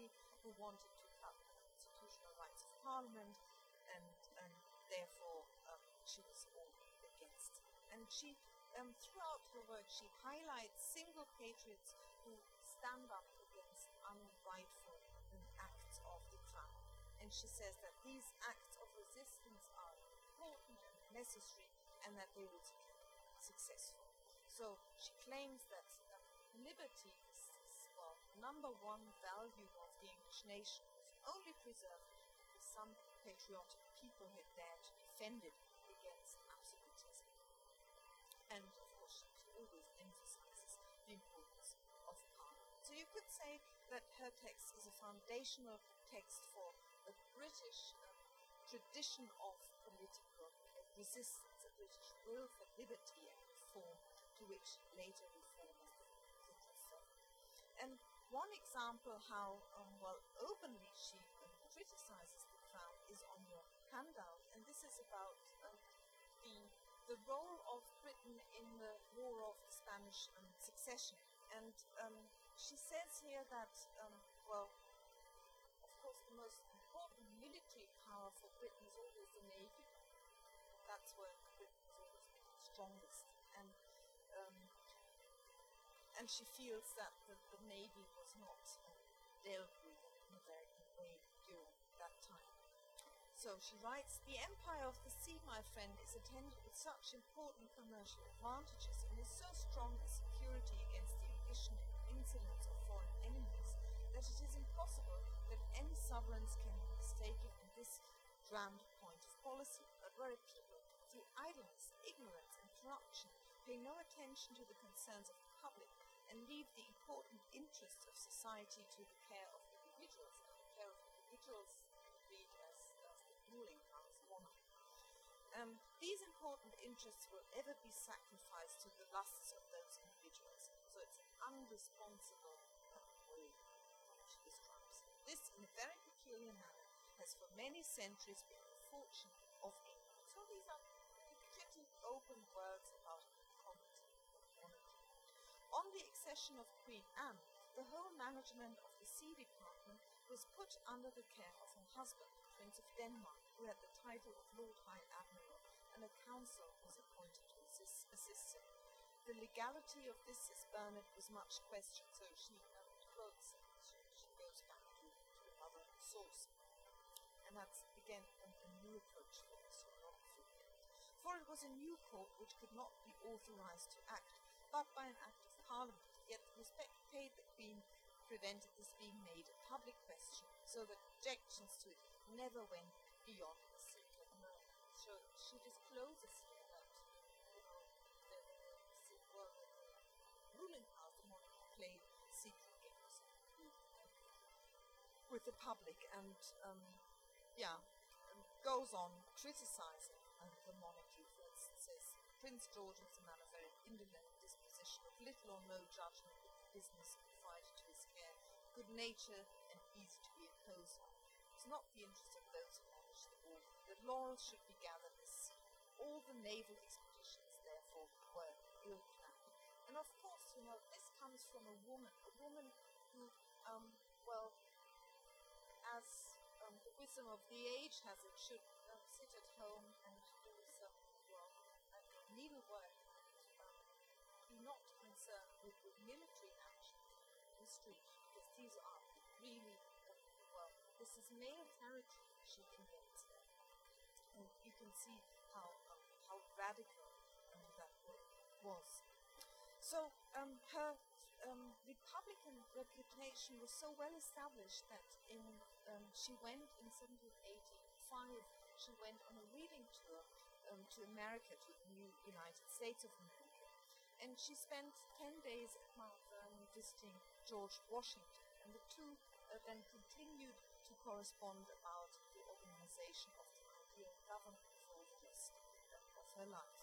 Speaker 1: who wanted to cut the constitutional rights of Parliament, and, and therefore um, she was all against. And she, um, throughout her work, she highlights single patriots who stand up against unrightful um, acts of the crown. And she says that these acts of resistance are important and necessary, and that they will be successful. So she claims that uh, liberty is, is well, number one value of the English nation was only preserved because some patriotic people had dared to defend it against absolutism. And of course, she always emphasizes the importance of Parliament. So you could say that her text is a foundational text for a British um, tradition of political resistance, a British will for liberty and reform, to which later reformers could refer. And one example how um, well openly she um, criticizes the crown is on your handout, and this is about um, the the role of Britain in the War of the Spanish um, Succession. And um, she says here that um, well, of course, the most important military power for Britain is always the Navy. That's where Britain is always the strongest. And um, and she feels that the, the Navy was not uh, dealt with in a very good way during that time. So she writes, "The empire of the sea, my friend, is attended with such important commercial advantages and is so strong a security against the ambition and insolence of foreign enemies that it is impossible that any sovereigns can be mistaken in this grand point of policy, but where a people, through idleness, ignorance, and corruption, pay no attention to the concerns of the public and leave the important interests of society to the care of individuals, and the care of individuals read as, as the ruling class monarch. Um, these important interests will ever be sacrificed to the lusts of those individuals. So it's an unresponsible way she describes it. This, in a very peculiar manner, has for many centuries been the fortune of England." So these are pretty open words about equality of monarchy. On the accession of Queen Anne, the whole management of the sea department was put under the care of her husband, Prince of Denmark, who had the title of Lord High Admiral, and a council was appointed to assist, assist him. The legality of this, says Bernard, was much questioned, so she um, quotes, she, she goes back to, to another source. And that's, again, a, a new approach for historiography. For it was a new court which could not be authorized to act, but by an act of Parliament, yet the respect paid the Queen prevented this being made a public question, so that objections to it never went beyond the secret murmur. So she discloses here that you know, the, the, well, the ruling class, the monarchy, played secret games with, with the public, and um, yeah, um, goes on criticizing uh, the monarchy. For instance, says Prince George was a man of very indolent disposition, of little or no judgment in the business confided to his care, good nature and easy to be imposed on. It was not the interest of those who managed the war that laurels should be gathered at sea. All the naval expeditions, therefore, were ill planned. And of course, you know, this comes from a woman, a woman who, um, well, as um, the wisdom of the age has it, should um, sit at home and do some, well, uh, needlework, um, be not concerned with, with military action in history, because these are really, uh, well, this is male territory she invents there. And you can see how, um, how radical um, that work was. So um, her um, Republican reputation was so well established that in um, she went in seventeen eighty-five. She went on a reading tour um, to America, to the new United States of America, and she spent ten days at Mount Vernon visiting George Washington, and the two uh, then continued to correspond about the organization of the ideal government for the rest of her life.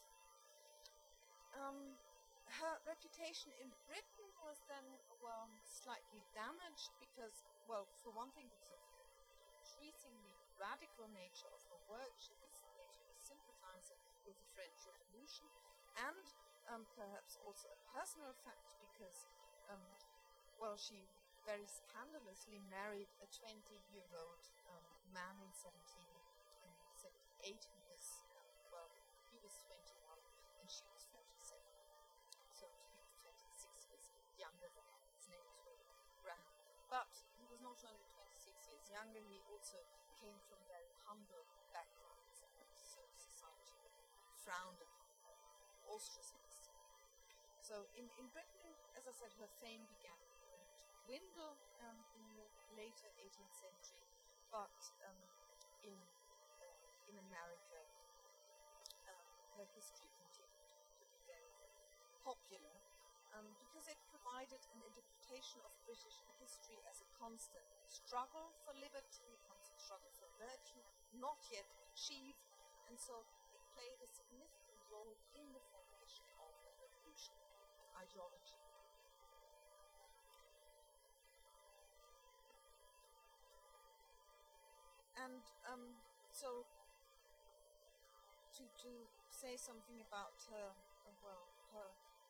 Speaker 1: Um, Her reputation in Britain was then, well, slightly damaged because, well, for one thing, because of the increasingly radical nature of her work. She was later a sympathizer with the French Revolution, and um, perhaps also a personal fact because, um, well, she very scandalously married a twenty-year-old um, man in seventeen seventy-eight who was, well, he was twenty-one and she was forty-seven. So he was twenty-six years younger than her. His name was Graham. But he was not only twenty-six years younger, he also came from very humble backgrounds, and so society frowned upon her, ostracized her. So in, in Britain, as I said, her fame began to dwindle um, in the later eighteenth century, but um, in uh, in America, uh, her history continued to be very, very popular um, because it provided an interpretation of British history as a constant struggle for liberty, a constant struggle for virtue, not yet achieved, and so it played a significant role in the formation of the revolutionary ideology. And um, so, to, to say something about her, uh, well, her,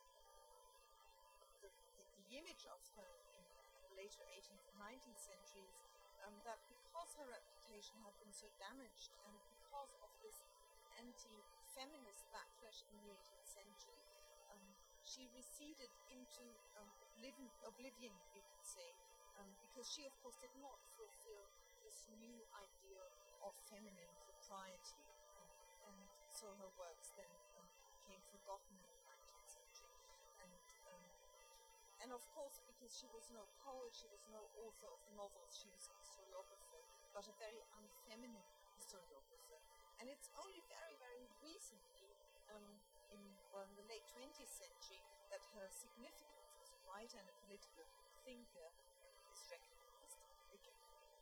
Speaker 1: the, the, the image of her in the later eighteenth and nineteenth centuries, um, that because her reputation had been so damaged and because of this anti-feminist backlash in the eighteenth century, um, she receded into um, oblivion, oblivion, you could say, um, because she, of course, did not fulfill this new ideal of feminine propriety, um, and so her works then um, became forgotten in the nineteenth century. And, um, and of course, because she was no poet, she was no author of novels, she was a historiographer, but a very unfeminine historiographer. And it's only very, very recently, um, in, well, in the late twentieth century, that her significance as a writer and a political thinker is recognized again.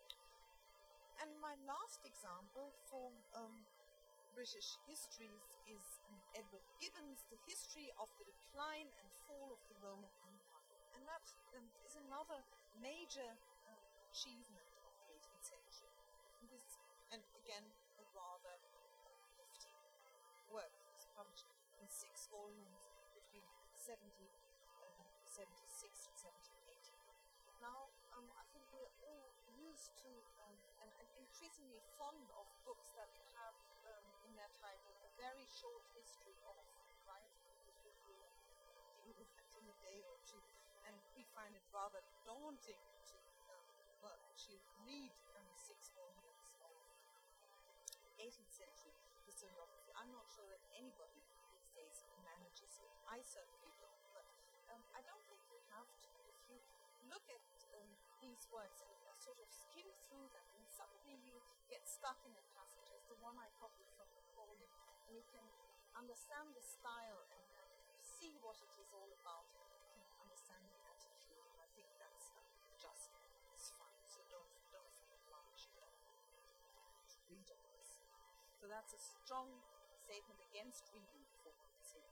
Speaker 1: And my last example for um, British histories is um, Edward Gibbon's The History of the Decline and Fall of the Roman Empire. And that um, is another major uh, achievement of the eighteenth century. It was, and again, a rather hefty work. It was published in six volumes between seventeen seventy-six and seventeen eighty. Now, um, I think we're all used to um, and, and increasingly fond of books that have um, in their title a very short history of, right? Because we will deal with that in a day or two, and we find it rather daunting to, um, well, actually read um, six volumes of eighteenth century historiography. I'm not sure that anybody these days manages it. I certainly don't, but um, I don't think you have to. If you look at um, these works and uh, sort of skim through them, and suddenly you get stuck in a passage, as the one I copied from Napoleon, and you can understand the style and uh, see what it is all about, you can understand the attitude, and I think that's uh, just it's fine. So don't don't feel obliged uh, to read all this. So that's a strong statement against reading for sake.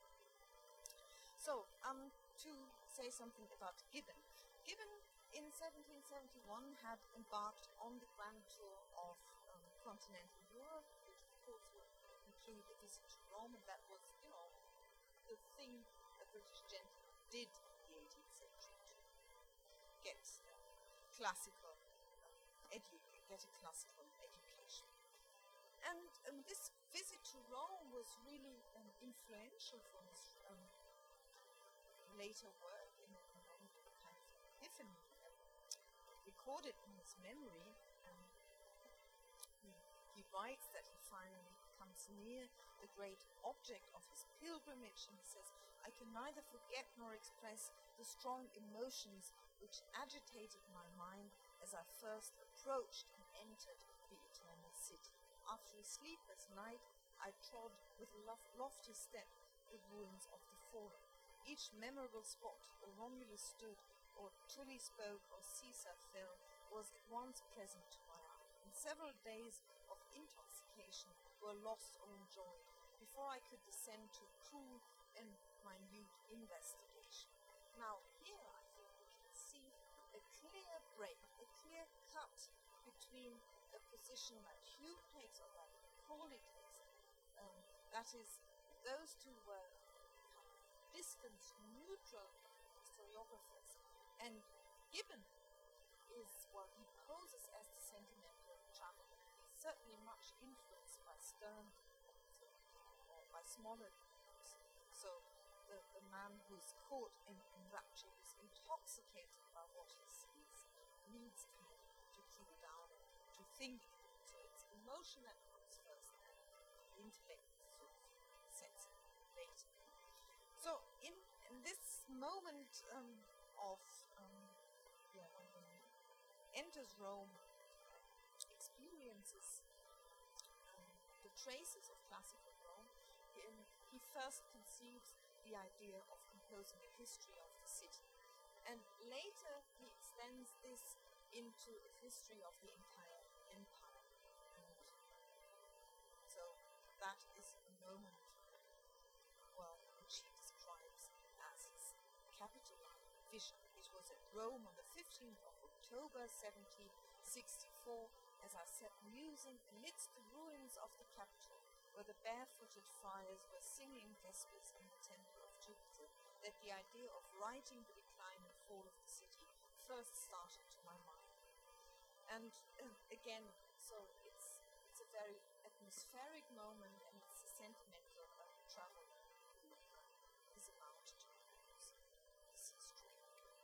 Speaker 1: So um, to say something about Gibbon. Gibbon in seventeen seventy-one had embarked on the grand tour of um, continental Europe, which of course would include a visit to Rome, and that was, you know, the thing a British gentleman did in the eighteenth century to get uh, classical uh, edu- get a classical education. And um, this visit to Rome was really um, influential for his um, later work in, in a kind of epiphany um, recorded in his memory. Um, he, he writes that he finally comes near the great object of his pilgrimage, and he says, "I can neither forget nor express the strong emotions which agitated my mind as I first approached and entered the eternal city. After a sleepless night, I trod with a lof- lofty step the ruins of the Forum. Each memorable spot where Romulus stood, or Tully spoke, or Caesar fell, was at once present to my eye, and several days of intoxication were lost or enjoyed before I could descend to cool and minute investigation." Now, here I think we can see a clear break, a clear cut between the position that Hugh takes or that Macaulay takes. Um, that is, those two were distant, neutral historiographers, and Gibbon sentimental travel. He's certainly much influenced by Sterne or by Smollett. So the, the man who's caught in, in rapture is intoxicated by what he sees, needs time to cool down, to think. So it's emotion that comes first, and the intellect sort of sets it later. So in, in this moment um, of um, yeah, um, enters Rome, experiences um, the traces of classical Rome, in, he first conceives the idea of composing a history of the city. And later he extends this into a history of the entire empire. And so that is a moment, well, which he describes as his capital vision. It was at Rome on the fifteenth of October seventeen sixty-four, as I sat musing amidst the ruins of the capital, where the barefooted friars were singing vespers in the temple of Jupiter, that the idea of writing the decline and fall of the city first started to my mind. And uh, again, so it's it's a very atmospheric moment, and it's a sentimental uh, travel who uh, is about to use this history.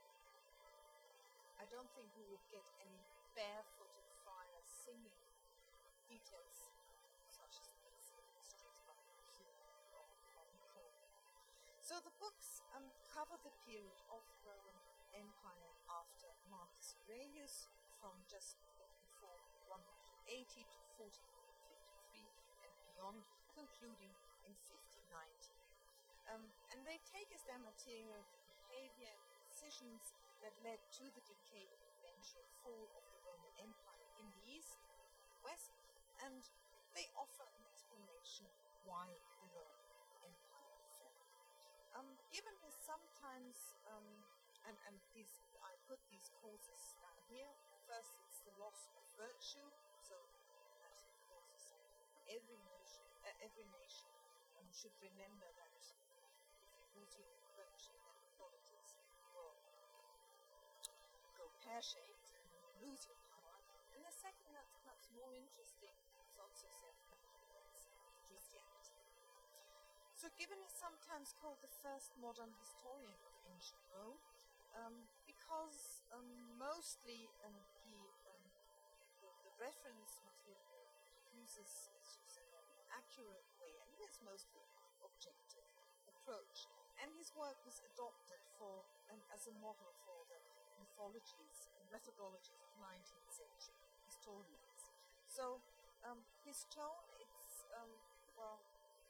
Speaker 1: I don't think we would get any barefooted friars singing details such as these in the streets by Hume or Nicole. So the books um, cover the period of the Roman Empire after Marcus Aurelius, from just before one eighty to fourteen fifty-three and beyond, concluding in fifteen ninety. Um, and they take as their material behavior and decisions that led to the decay and eventual fall of the Roman Empire in the East and West, and they offer an explanation why the Roman Empire fell. Um, given is sometimes, um, and, and these, I put these causes down here. First, it's the loss of virtue, so that of course is every nation, uh, every nation um, should remember that if you're losing virtue, then politics will go pear-shaped and lose your power. And the second, that's perhaps more interesting, is also said that's Christianity. So Gibbon is sometimes called the first modern historian of ancient Rome, um, because um, mostly um, he, um, the, the reference material he uses is used in an accurate way, and he has mostly objective approach. And his work was adopted for um, as a model for the mythologies and methodologies of nineteenth century historians. So um, his tone, it's, um, well,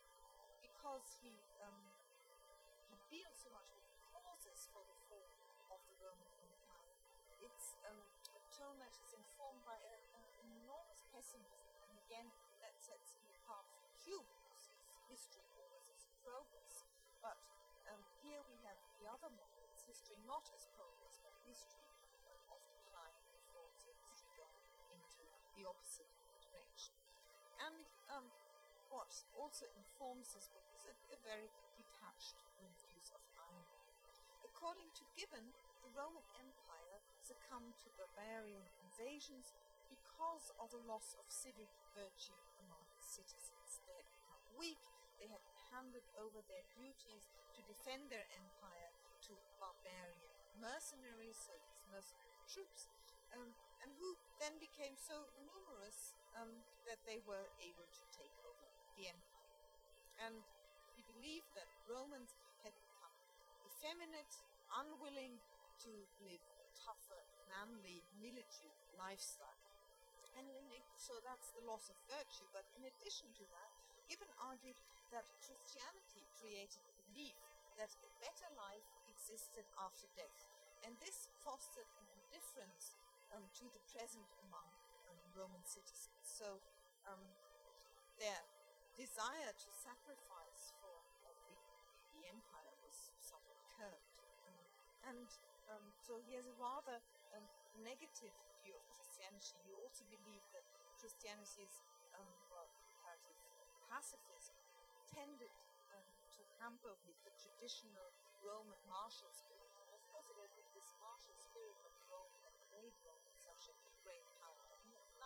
Speaker 1: because he, um, he deals so much with causes for the fall of the Roman Empire, it's um, a tone that is informed by a, a, an enormous pessimism. And again, that sets him apart from Hume, who sees history always as progress. But um, here we have the other model. It's history not as progress, but history um, of decline and fall, so history going into the opposite direction. And um, what also informs his book is a, a very detached views of irony. According to Gibbon, the Roman Empire succumbed to barbarian invasions because of a loss of civic virtue among its citizens. They had become weak, they had handed over their duties to defend their empire to barbarian mercenaries, so these mercenary troops, um, and who then became so numerous um, that they were able to take over the empire. And he believed that Romans had become effeminate, unwilling to live a tougher, manly, military lifestyle. And it, so that's the loss of virtue. But in addition to that, Gibbon argued that Christianity created a belief that a better life existed after death. And this fostered an indifference um, to the present among um, Roman citizens. So um, their desire to sacrifice for uh, the, the empire was somewhat curbed. Um, and um, so he has a rather um, negative view of Christianity. He also believed that Christianity's um, well, comparative pacifism tended um, to hamper with the traditional Roman martial spirit. And of course, it was with this martial spirit that Rome had made Rome such a great power.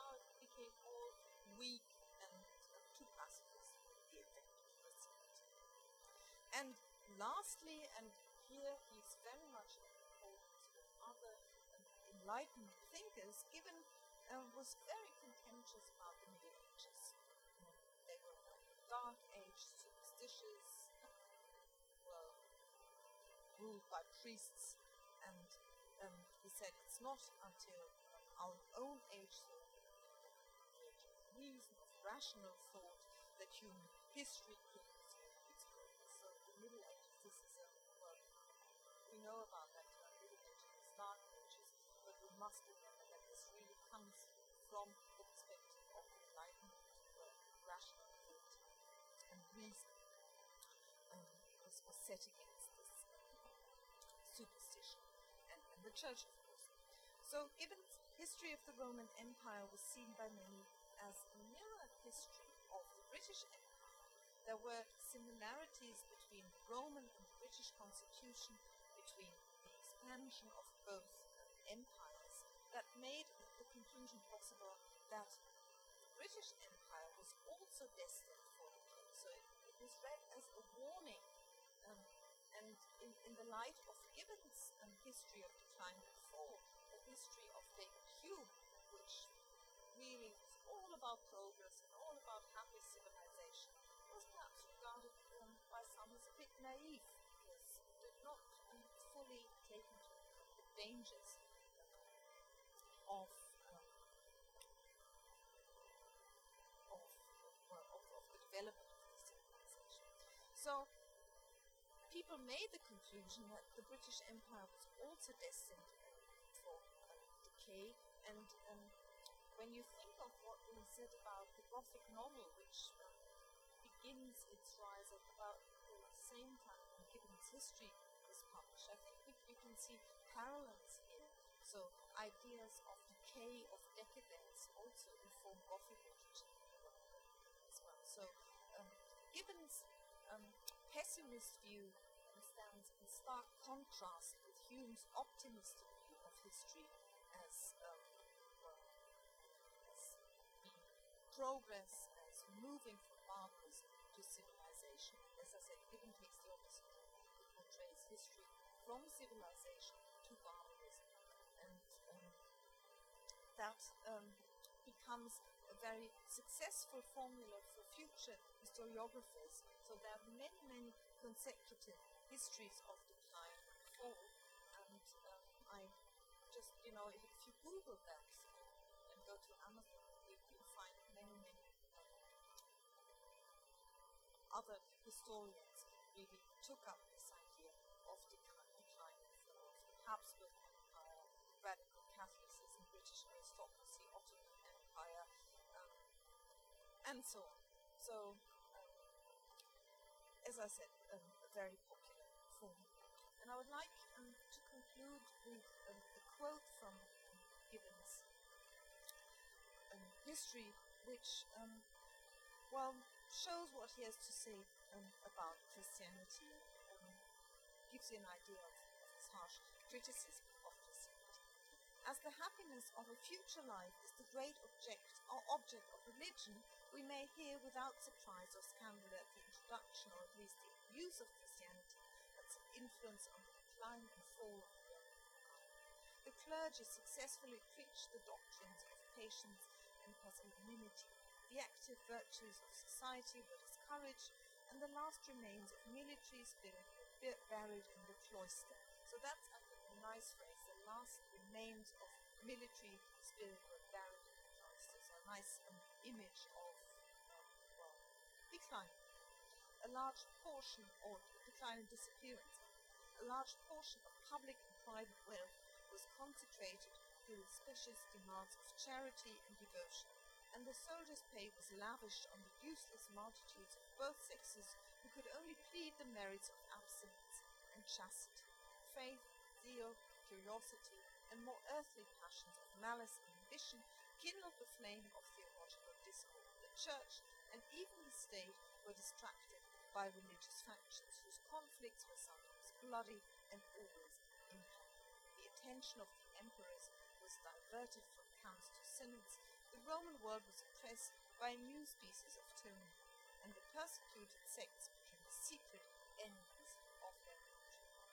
Speaker 1: lastly, and here he's very much in accordance with other enlightened thinkers, Gibbon uh, was very contentious about the Middle Ages. Um, they were a dark age, superstitious, were ruled by priests, and um, he said it's not until our own age, the age of reason, of rational thought, that human history could resume its growth. So the Middle Ages, this is a, well, we know about that term, Middle Ages, Dark Ages, but we must remember that this really comes from the perspective of the Enlightenment, where rational thought and reason um, was, was set against this superstition and, and the church, of course. So Gibbon's history of the Roman Empire was seen by many as a mirror history of the British Empire. There were similarities between the Roman and the British constitution, between the expansion of both empires, that made the conclusion possible that the British Empire was also destined for decay. So it, it was read as a warning. Um, and in, in the light of Gibbon's um, history of decline and fall, the history of David Hume, which really was all about progress and all about happy civilization, was perhaps regarded um, by some as a bit naive, because it did not um, fully take into account the dangers of, um, of, well, of, of the development of the civilization. So people made the conclusion that the British Empire was also destined for uh, decay, and um, when you think of what we said about the Gothic novel, which uh, begins its rise at about the same time when Gibbon's history was published, I think we, you can see parallels here. So ideas of decay, of decadence, also inform Gothic literature as well. So um, Gibbon's um, pessimist view stands in stark contrast with Hume's optimistic view of history as, um, well, as being progress, as moving from barbarism to civilization. As I said, Gibbon takes the opposite view. It portrays history from civilization to barbarism. And um, that um, becomes a very successful formula for future historiographers. So there are many, many consecutive histories of decline and fall. And um, I just, you know, if, if you Google that and go to Amazon, you can find many, many um, other historians really took up this idea of decline, decline and fall, of the Habsburg Empire, radical Catholicism, British aristocracy, Ottoman Empire, um, and so on. So, um, as I said, um, a very popular form. And I would like um, to conclude with um, a quote from um, Gibbon's um, history, which, um, well, shows what he has to say um, about Christianity, um, gives you an idea of, of his harsh criticism of Christianity. As the happiness of a future life is the great object or object of religion, we may hear without surprise or scandal at the introduction, or at least the use of Christianity, its influence on the decline and fall of the Roman Empire. The clergy successfully preached the doctrines of patience and pusillanimity. The active virtues of society were discouraged, and the last remains of military spirit were buried in the cloister. So that's, I think, a nice phrase. The last remains of military spirit were buried in the cloister. So a nice um, image of um, well, decline. A large portion, or decline and disappearance, a large portion of public and private wealth was consecrated to the specious demands of charity and devotion, and the soldiers' pay was lavished on the useless multitudes of both sexes who could only plead the merits of abstinence and chastity. Faith, zeal, curiosity, and more earthly passions of malice and ambition kindled the flame of theological discord. The church and even the state were distracted by religious factions whose conflicts were sometimes bloody and always implacable. The attention of the emperors was diverted from counts to synods. The Roman world was oppressed by a new species of tyranny, and the persecuted sects became the secret enemies of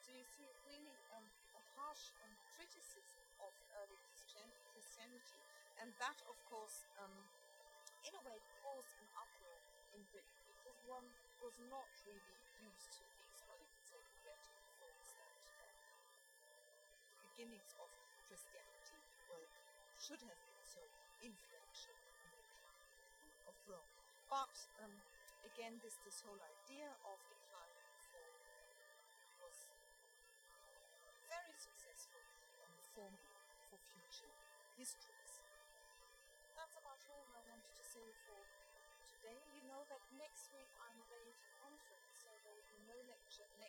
Speaker 1: So you see, really um, a harsh um, criticism of early Christian, Christianity, and that, of course, um, in a way, caused an uproar in Britain because Rome was not really used to these, well, you could say, prophetic thoughts that uh, the beginnings of Christianity were, should have been so influential in the decline of Rome. But um, again, this this whole idea of declining reform was very successful and forming for future histories. That's about all I wanted to say for today. You know that next week I'm away at a conference, so there will be no lecture next